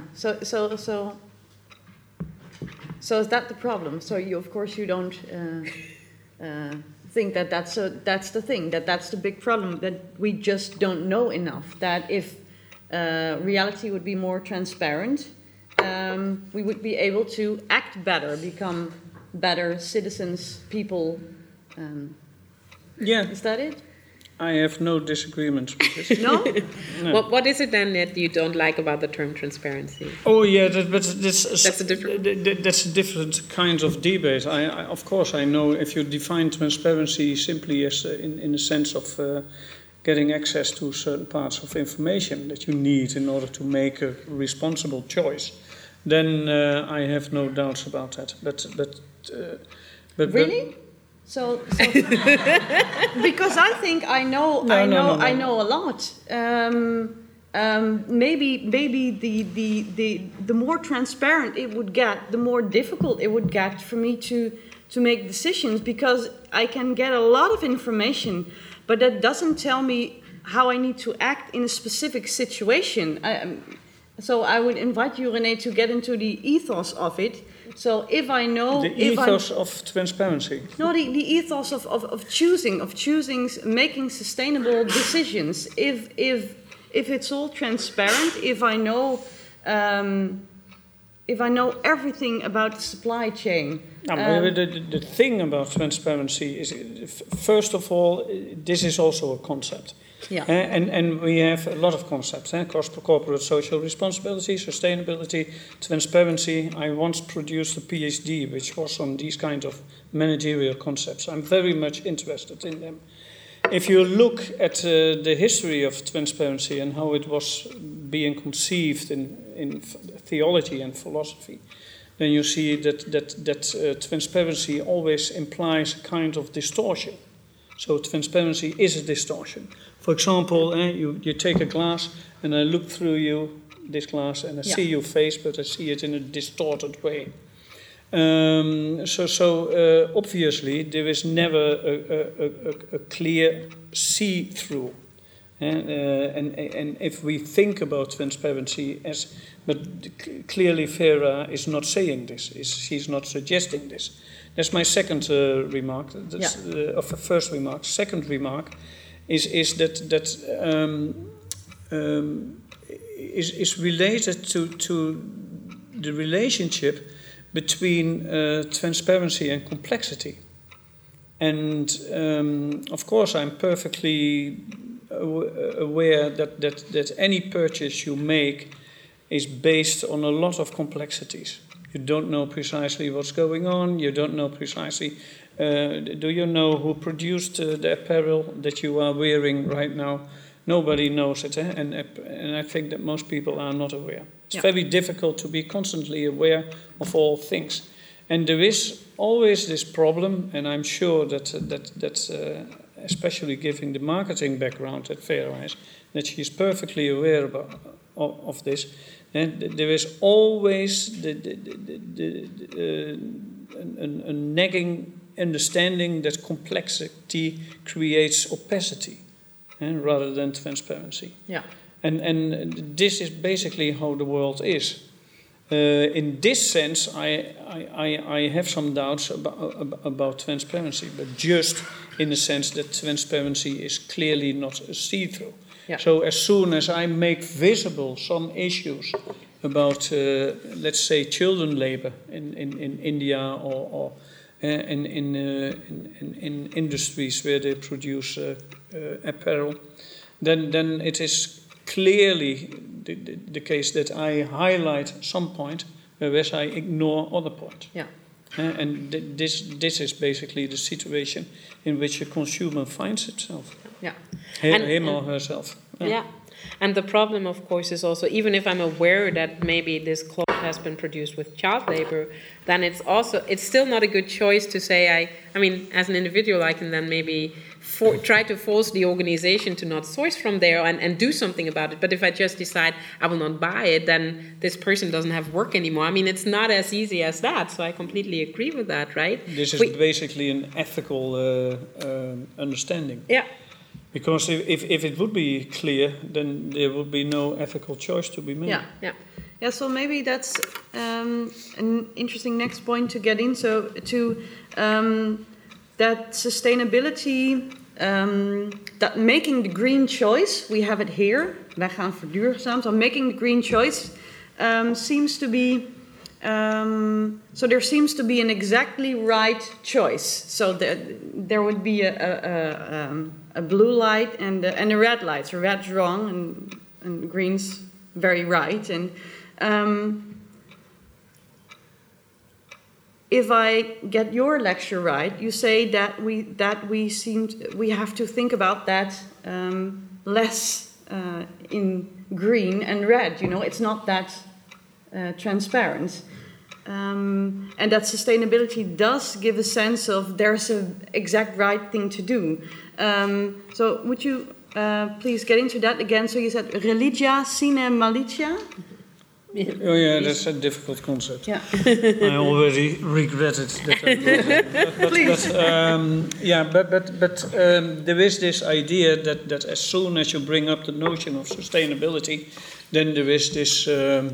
So is that the problem? So of course you don't think that that's the thing, that's the big problem, that we just don't know enough. That if reality would be more transparent, we would be able to act better, become better citizens, people.
Yeah.
Is that it?
I have no disagreements with this.
No?
No.
What is it then that you don't like about the term transparency?
Oh yeah, that's
a different.
That's a different kind of debate. Of course I know if you define transparency simply as in the sense of getting access to certain parts of information that you need in order to make a responsible choice, then I have no doubts about that. But
really? So because I think I know a lot. Maybe the more transparent it would get, the more difficult it would get for me to make decisions, because I can get a lot of information, but that doesn't tell me how I need to act in a specific situation. So I would invite you, René, to get into the ethos of it. So if I know...
The ethos of transparency.
No, the ethos of choosing, making sustainable decisions. If it's all transparent, if I know everything about the supply chain.
The thing about transparency is, first of all, this is also a concept.
Yeah.
And we have a lot of concepts. Corporate social responsibility, sustainability, transparency. I once produced a PhD which was on these kind of managerial concepts. I'm very much interested in them. If you look at the history of transparency and how it was being conceived in theology and philosophy, then you see that transparency always implies a kind of distortion. So transparency is a distortion. For example, you take a glass and I look through this glass and I see your face, but I see it in a distorted way. Obviously there is never a clear see-through. And if we think about transparency but clearly Vera is not saying this, she's not suggesting this. That's my second remark, of the first remark. Second remark is that is related to the relationship between transparency and complexity. And of course I'm perfectly aware that any purchase you make is based on a lot of complexities. You don't know precisely what's going on. You don't know precisely. Do you know who produced the apparel that you are wearing right now? Nobody knows it, and I think that most people are not aware. It's very difficult to be constantly aware of all things, and there is always this problem. And I'm sure that especially given the marketing background that Vera has, that she's perfectly aware of this. And there is always a nagging understanding that complexity creates opacity, rather than transparency. Yeah. And this is basically how the world is. In this sense, I have some doubts about transparency, but just in the sense that transparency is clearly not a see-through. Yeah. So as soon as I make visible some issues about, let's say, children labor in India or in industries where they produce apparel, then it is clearly the case that I highlight some point, whereas I ignore other point. Yeah. And this is basically the situation in which a consumer finds itself. Yeah. Him or herself.
Yeah. And the problem, of course, is also, even if I'm aware that maybe this cloth has been produced with child labor, then it's still not a good choice to say, I mean, as an individual, I can then maybe try to force the organization to not source from there and do something about it. But if I just decide I will not buy it, then this person doesn't have work anymore. I mean, it's not as easy as that. So I completely agree with that, right?
This is basically an ethical understanding.
Yeah.
Because if it would be clear, then there would be no ethical choice to be made.
Yeah, so maybe that's an interesting next point to get in. So that sustainability, that making the green choice, we have it here. Wij gaan verduurzaam. So making the green choice seems to be. So there seems to be an exactly right choice. So there would be a blue light and a red light. So red's wrong and green's very right. And if I get your lecture right, you say that we have to think about that less in green and red. You know, it's not that transparent. And that sustainability does give a sense of there's an exact right thing to do. So would you please get into that again? So you said religia sine malitia?
Oh yeah, that's a difficult concept.
Yeah.
I already regretted that I brought it. But there is this idea that as soon as you bring up the notion of sustainability, then there is this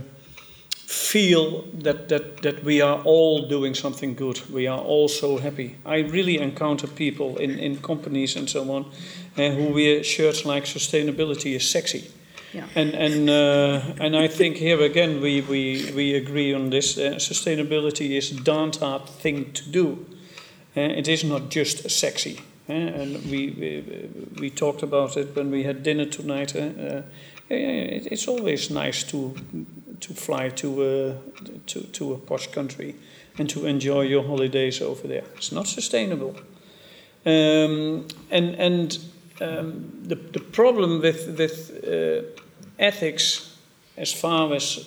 feel that we are all doing something good. We are all so happy. I really encounter people in companies and so on who wear shirts like "sustainability is sexy."
Yeah.
And I think here again we agree on this. Sustainability is a darn hard thing to do. It is not just sexy. And we talked about it when we had dinner tonight. It's always nice to fly to a posh country and to enjoy your holidays over there. It's not sustainable. The problem with ethics, as far as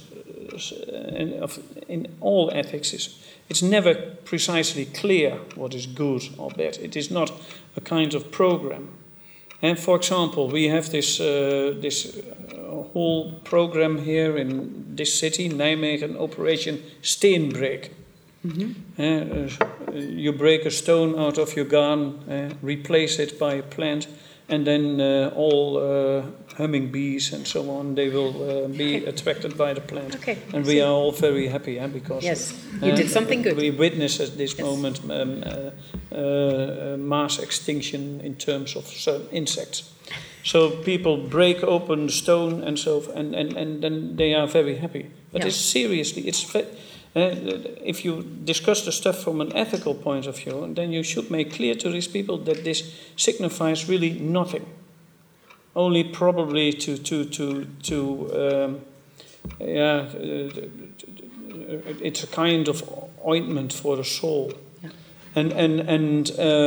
in all ethics, is it's never precisely clear what is good or bad. It is not a kind of program. And for example, we have this whole program here in this city, Nijmegen, Operation Steenbreek. Mm-hmm. You break a stone out of your garden, replace it by a plant, and then all humming bees and so on, they will be attracted by the plant.
Okay.
And we are all very happy because
yes, you did something good.
We witness at this moment mass extinction in terms of certain insects. So people break open the stone and then they are very happy. But it's seriously, if you discuss the stuff from an ethical point of view, then you should make clear to these people that this signifies really nothing. Only probably it's a kind of ointment for the soul. And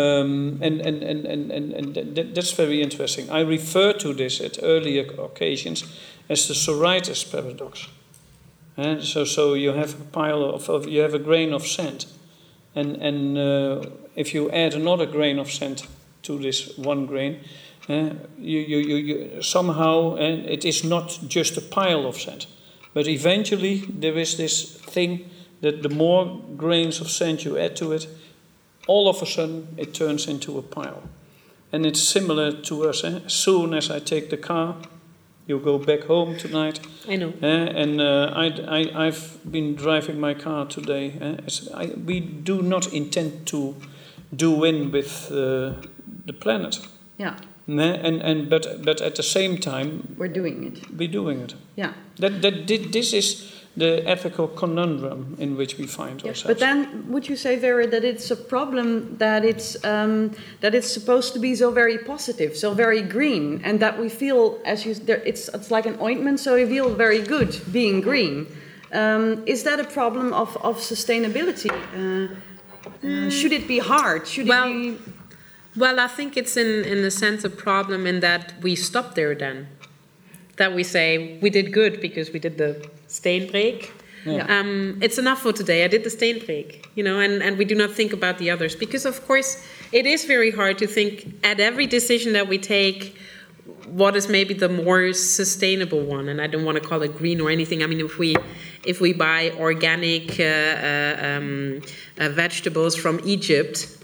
that's very interesting. I refer to this at earlier occasions as the Sorites paradox. So you have a pile you have a grain of sand, and if you add another grain of sand to this one grain, you somehow, it is not just a pile of sand, but eventually there is this thing that the more grains of sand you add to it, all of a sudden it turns into a pile. And it's similar to us. As soon as I take the car, you go back home tonight.
I know.
I've been driving my car today. We do not intend to do in with the planet.
Yeah.
But at the same time,
we're doing it.
We're doing it.
Yeah.
This is the ethical conundrum in which we find ourselves.
But then, would you say, Vera, that it's a problem that it's supposed to be so very positive, so very green, and that we feel it's like an ointment, so we feel very good being green. Is that a problem of sustainability? Should it be hard? Should it be?
Well, I think it's in a sense a problem in that we stop there then. That we say, we did good because we did the steenbreek. Yeah. It's enough for today. I did the steenbreek, and we do not think about the others. Because, of course, it is very hard to think at every decision that we take what is maybe the more sustainable one. And I don't want to call it green or anything. I mean, if we buy organic vegetables from Egypt,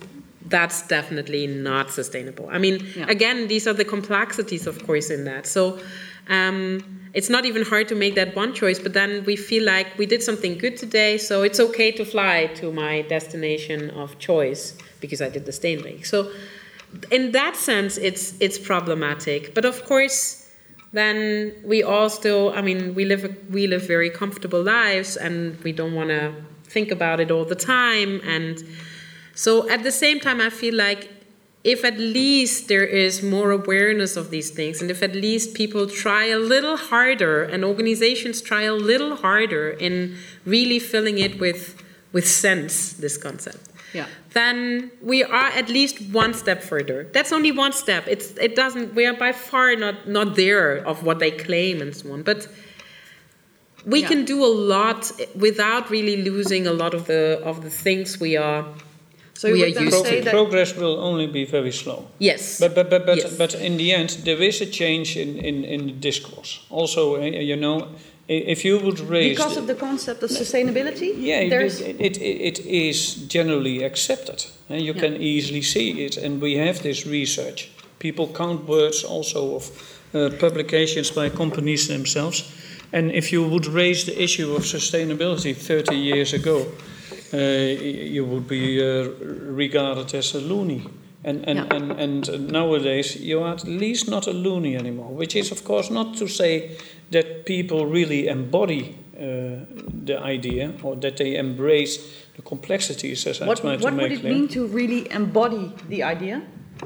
that's definitely not sustainable. I mean, again, these are the complexities, of course, in that. So it's not even hard to make that one choice, but then we feel like we did something good today, so it's okay to fly to my destination of choice because I did the Steenweg. So in that sense, it's problematic. But of course, then we all still, I mean, we live very comfortable lives, and we don't want to think about it all the time. And so at the same time, I feel like if at least there is more awareness of these things, and if at least people try a little harder, and organizations try a little harder in really filling it with sense, this concept, then we are at least one step further. That's only one step. We are by far not there of what they claim and so on. But we can do a lot without really losing a lot of the things we are. So we are used to.
Progress will only be very slow.
Yes.
But in the end, there is a change in the discourse. Also, if you would raise...
Because of the concept of sustainability?
Yeah, it is generally accepted. You can easily see it. And we have this research. People count words also of publications by companies themselves. And if you would raise the issue of sustainability 30 years ago, you would be regarded as a loony. And nowadays, you are at least not a loony anymore, which is, of course, not to say that people really embody the idea or that they embrace the complexities, as I tried to make clear.
What would it mean to really embody the idea?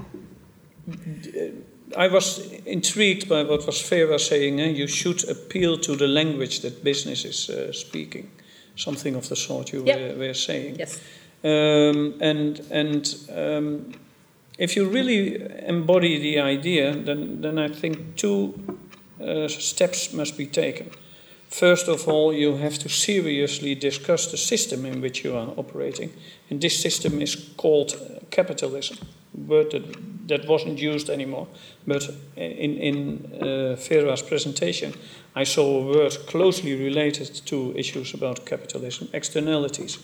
I was intrigued by what was Vera saying. You should appeal to the language that business is speaking. Something of the sort you were saying.
Yes.
If you really embody the idea, then I think two steps must be taken. First of all, you have to seriously discuss the system in which you are operating. And this system is called capitalism, a word that wasn't used anymore. But in Vera's presentation, I saw a word closely related to issues about capitalism, externalities.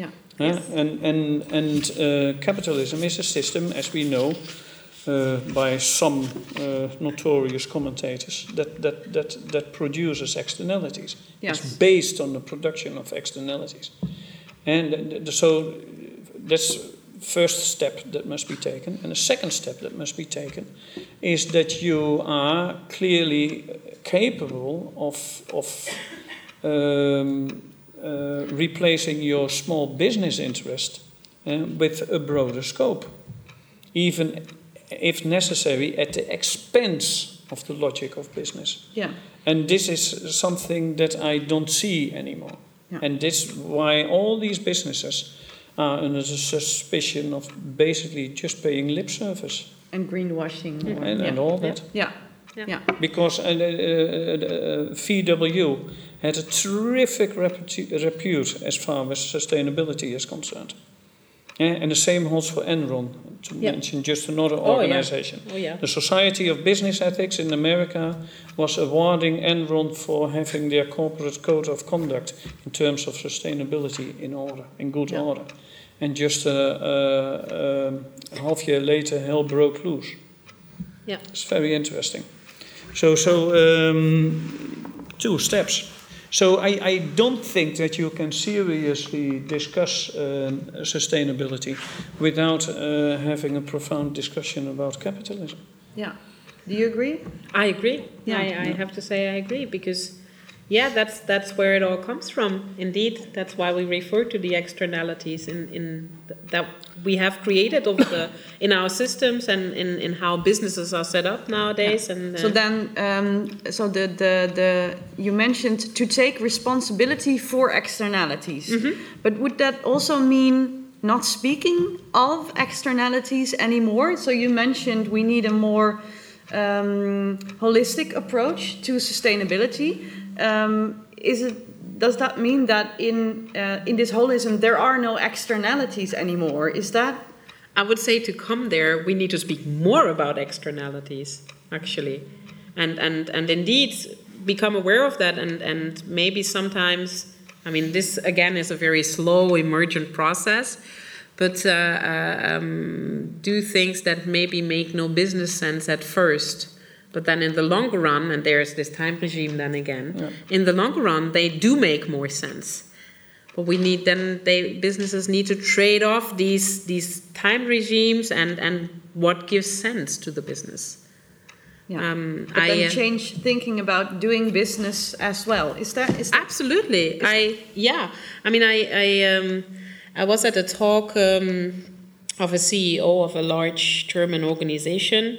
And capitalism is a system, as we know, by some notorious commentators, that produces externalities. It's based on the production of externalities. And so that's first step that must be taken. And the second step that must be taken is that you are clearly capable of replacing your small business interest with a broader scope, even if necessary at the expense of the logic of business. And this is something that I don't see anymore. And this is why all these businesses are under the suspicion of basically just paying lip service.
And greenwashing.
And all that. Because VW had a terrific repute as far as sustainability is concerned. And the same holds for Enron, to mention just another organization. The Society of Business Ethics in America was awarding Enron for having their corporate code of conduct in terms of sustainability in good order. And just a half year later, hell broke loose. It's very interesting. So two steps. So I don't think that you can seriously discuss sustainability without having a profound discussion about capitalism.
Do you agree?
I agree. I have to say I agree, because that's where it all comes from. Indeed, that's why we refer to the externalities that we have created in our systems and in how businesses are set up nowadays. And
so then, you mentioned to take responsibility for externalities, but would that also mean not speaking of externalities anymore? So you mentioned we need a more holistic approach to sustainability. Does that mean that in this holism there are no externalities anymore? Is that?
I would say to come there, we need to speak more about externalities, actually, and indeed become aware of that, and maybe sometimes, I mean, this again is a very slow emergent process, but do things that maybe make no business sense at first. But then in the longer run, and there's this time regime then again, in the longer run, they do make more sense. But businesses need to trade off these time regimes and what gives sense to the business.
Yeah. But then change thinking about doing business as well. Is that
absolutely? I was at a talk of a CEO of a large German organization.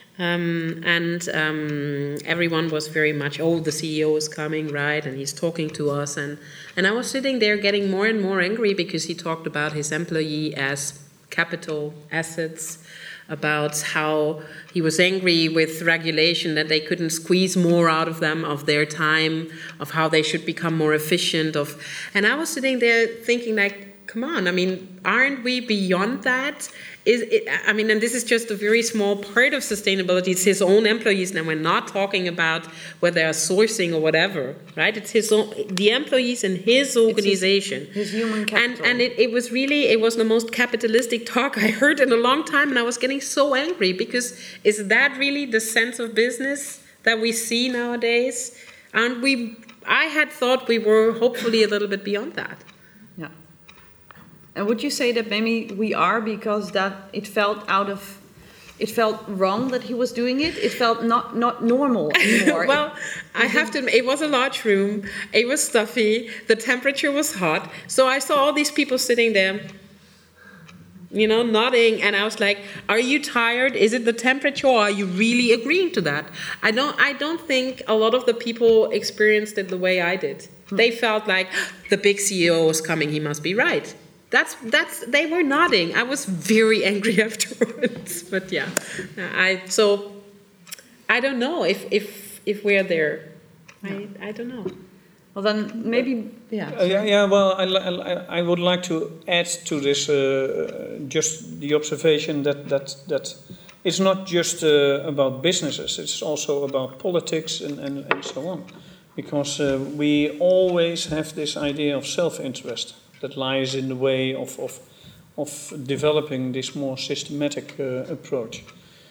Everyone was very much, the CEO is coming, right? And he's talking to us. And I was sitting there getting more and more angry because he talked about his employee as capital assets, about how he was angry with regulation, that they couldn't squeeze more out of them, of their time, of how they should become more efficient. And I was sitting there thinking, like, come on, aren't we beyond that? And this is just a very small part of sustainability. It's his own employees, and we're not talking about whether they're sourcing or whatever, right? It's the employees in his organization.
His human capital.
And it was the most capitalistic talk I heard in a long time, and I was getting so angry, because is that really the sense of business that we see nowadays? And I had thought we were hopefully a little bit beyond that.
Yeah. And would you say that maybe we are, because that it felt wrong that he was doing it? It felt not normal anymore.
Well, I have to admit, it was a large room, it was stuffy, the temperature was hot, so I saw all these people sitting there, nodding, and I was like, are you tired? Is it the temperature, or are you really agreeing to that? I don't think a lot of the people experienced it the way I did. They felt like, the big CEO is coming, he must be right. They were nodding. I was very angry afterwards. But yeah, I don't know if we're there. I don't know.
Well, then maybe
Well, I would like to add to this just the observation that it's not just about businesses. It's also about politics and so on, because we always have this idea of self-interest that lies in the way of developing this more systematic approach.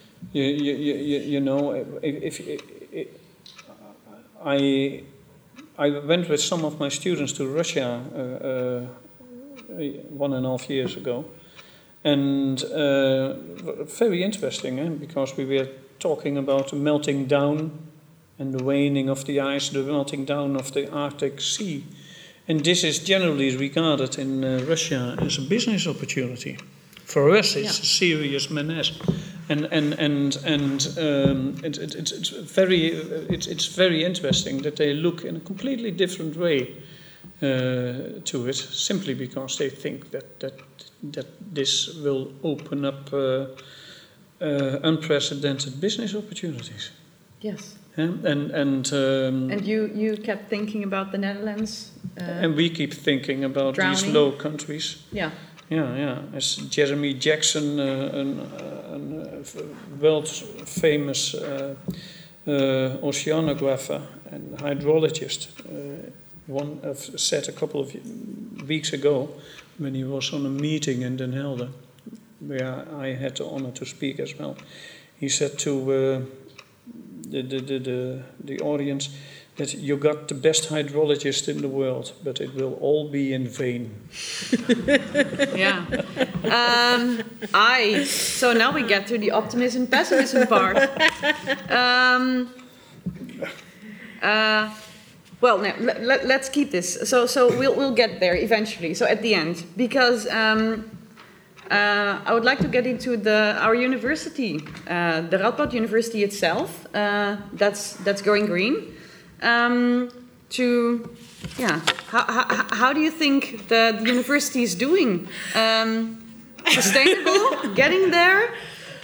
I went with some of my students to Russia 1.5 years ago, and very interesting, because we were talking about the melting down and the waning of the ice, the melting down of the Arctic Sea. And this is generally regarded in Russia as a business opportunity. For us, it's a serious menace, and it's very interesting that they look in a completely different way to it, simply because they think that this will open up unprecedented business opportunities.
Yes.
And
you kept thinking about the Netherlands.
And we keep thinking about
drowning.
These low countries.
Yeah.
Yeah. As Jeremy Jackson, a world-famous oceanographer and hydrologist, said a couple of weeks ago, when he was on a meeting in Den Helder, where I had the honor to speak as well. He said to the audience that you got the best hydrologist in the world, but it will all be in vain.
Yeah. So now we get to the optimism pessimism part. Well, now, let's keep this. So we'll get there eventually. So at the end, because I would like to get into our university, the Radboud University itself. That's going green. How do you think the university is doing? Sustainable, getting there.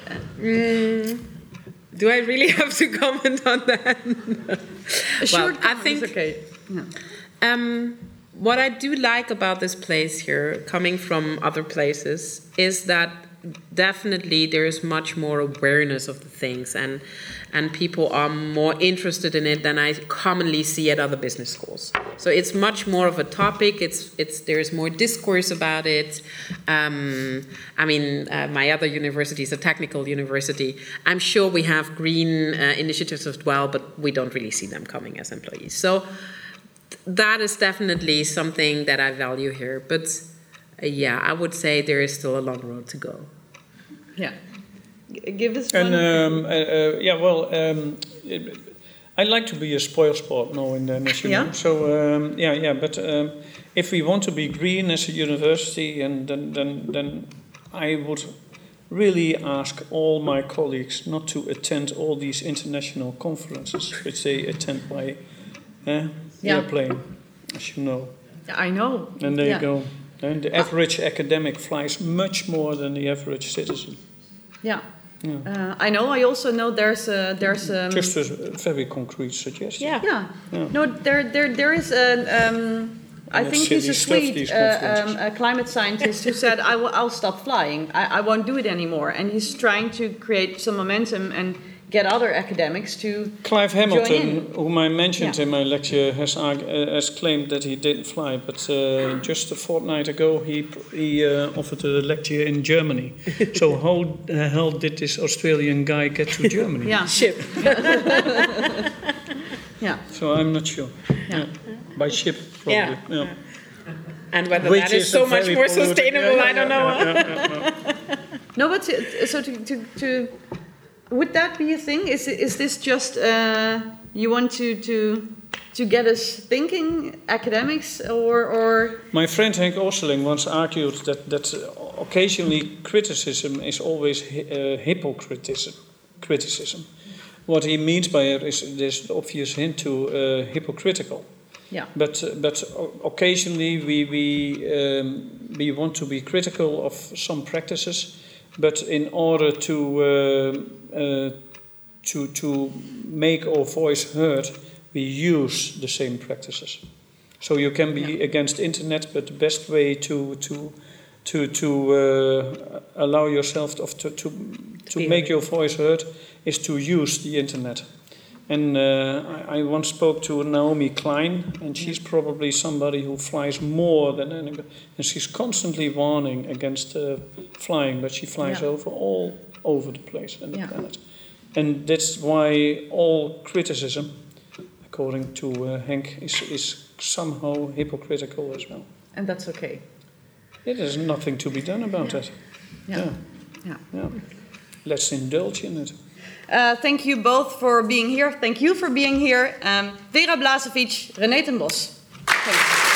Do I really have to comment on that?
Well,
I think
it's okay. Yeah.
What I do like about this place here, coming from other places, is that definitely there is much more awareness of the things, and people are more interested in it than I commonly see at other business schools. So it's much more of a topic. There's more discourse about it. My other university is a technical university. I'm sure we have green initiatives as well, but we don't really see them coming as employees. So that is definitely something that I value here. But I would say there is still a long road to go.
Yeah. Give us one.
I like to be a spoilsport now and then, as you know. So, but if we want to be green as a university, and then I would really ask all my colleagues not to attend all these international conferences, which they attend by airplane, as you know.
I know.
And there you go. And the average academic flies much more than the average citizen.
Yeah. I know. I also know there's
just a very concrete suggestion.
Yeah. No, there is I think he's a Swede a climate scientist who said I'll stop flying. I won't do it anymore, and he's trying to create some momentum and get other academics to
Clive Hamilton, whom I mentioned in my lecture, has claimed that he didn't fly, but just a fortnight ago he offered a lecture in Germany. So how the hell did this Australian guy get to Germany?
Ship.
So I'm not sure. By ship, probably. Yeah.
And whether that is so much more sustainable, I don't know.
No, but so to would that be a thing? Is this just you want to get us thinking, academics, or?
My friend Henk Oosterling once argued that occasionally criticism is always criticism. What he means by it is there's an obvious hint to hypocritical.
Yeah.
But occasionally we want to be critical of some practices. But in order to make our voice heard, we use the same practices. So you can be against internet, but the best way to allow yourself to make your voice heard is to use the internet. And I once spoke to Naomi Klein, and she's probably somebody who flies more than anybody. And she's constantly warning against flying, but she flies all over the place and the planet. And that's why all criticism, according to Henk, is somehow hypocritical as well.
And that's okay.
There's nothing to be done about that. Yeah. Let's indulge in it.
Thank you both for being here. Thank you for being here. Vera Blažević, René ten Bos. Thank you.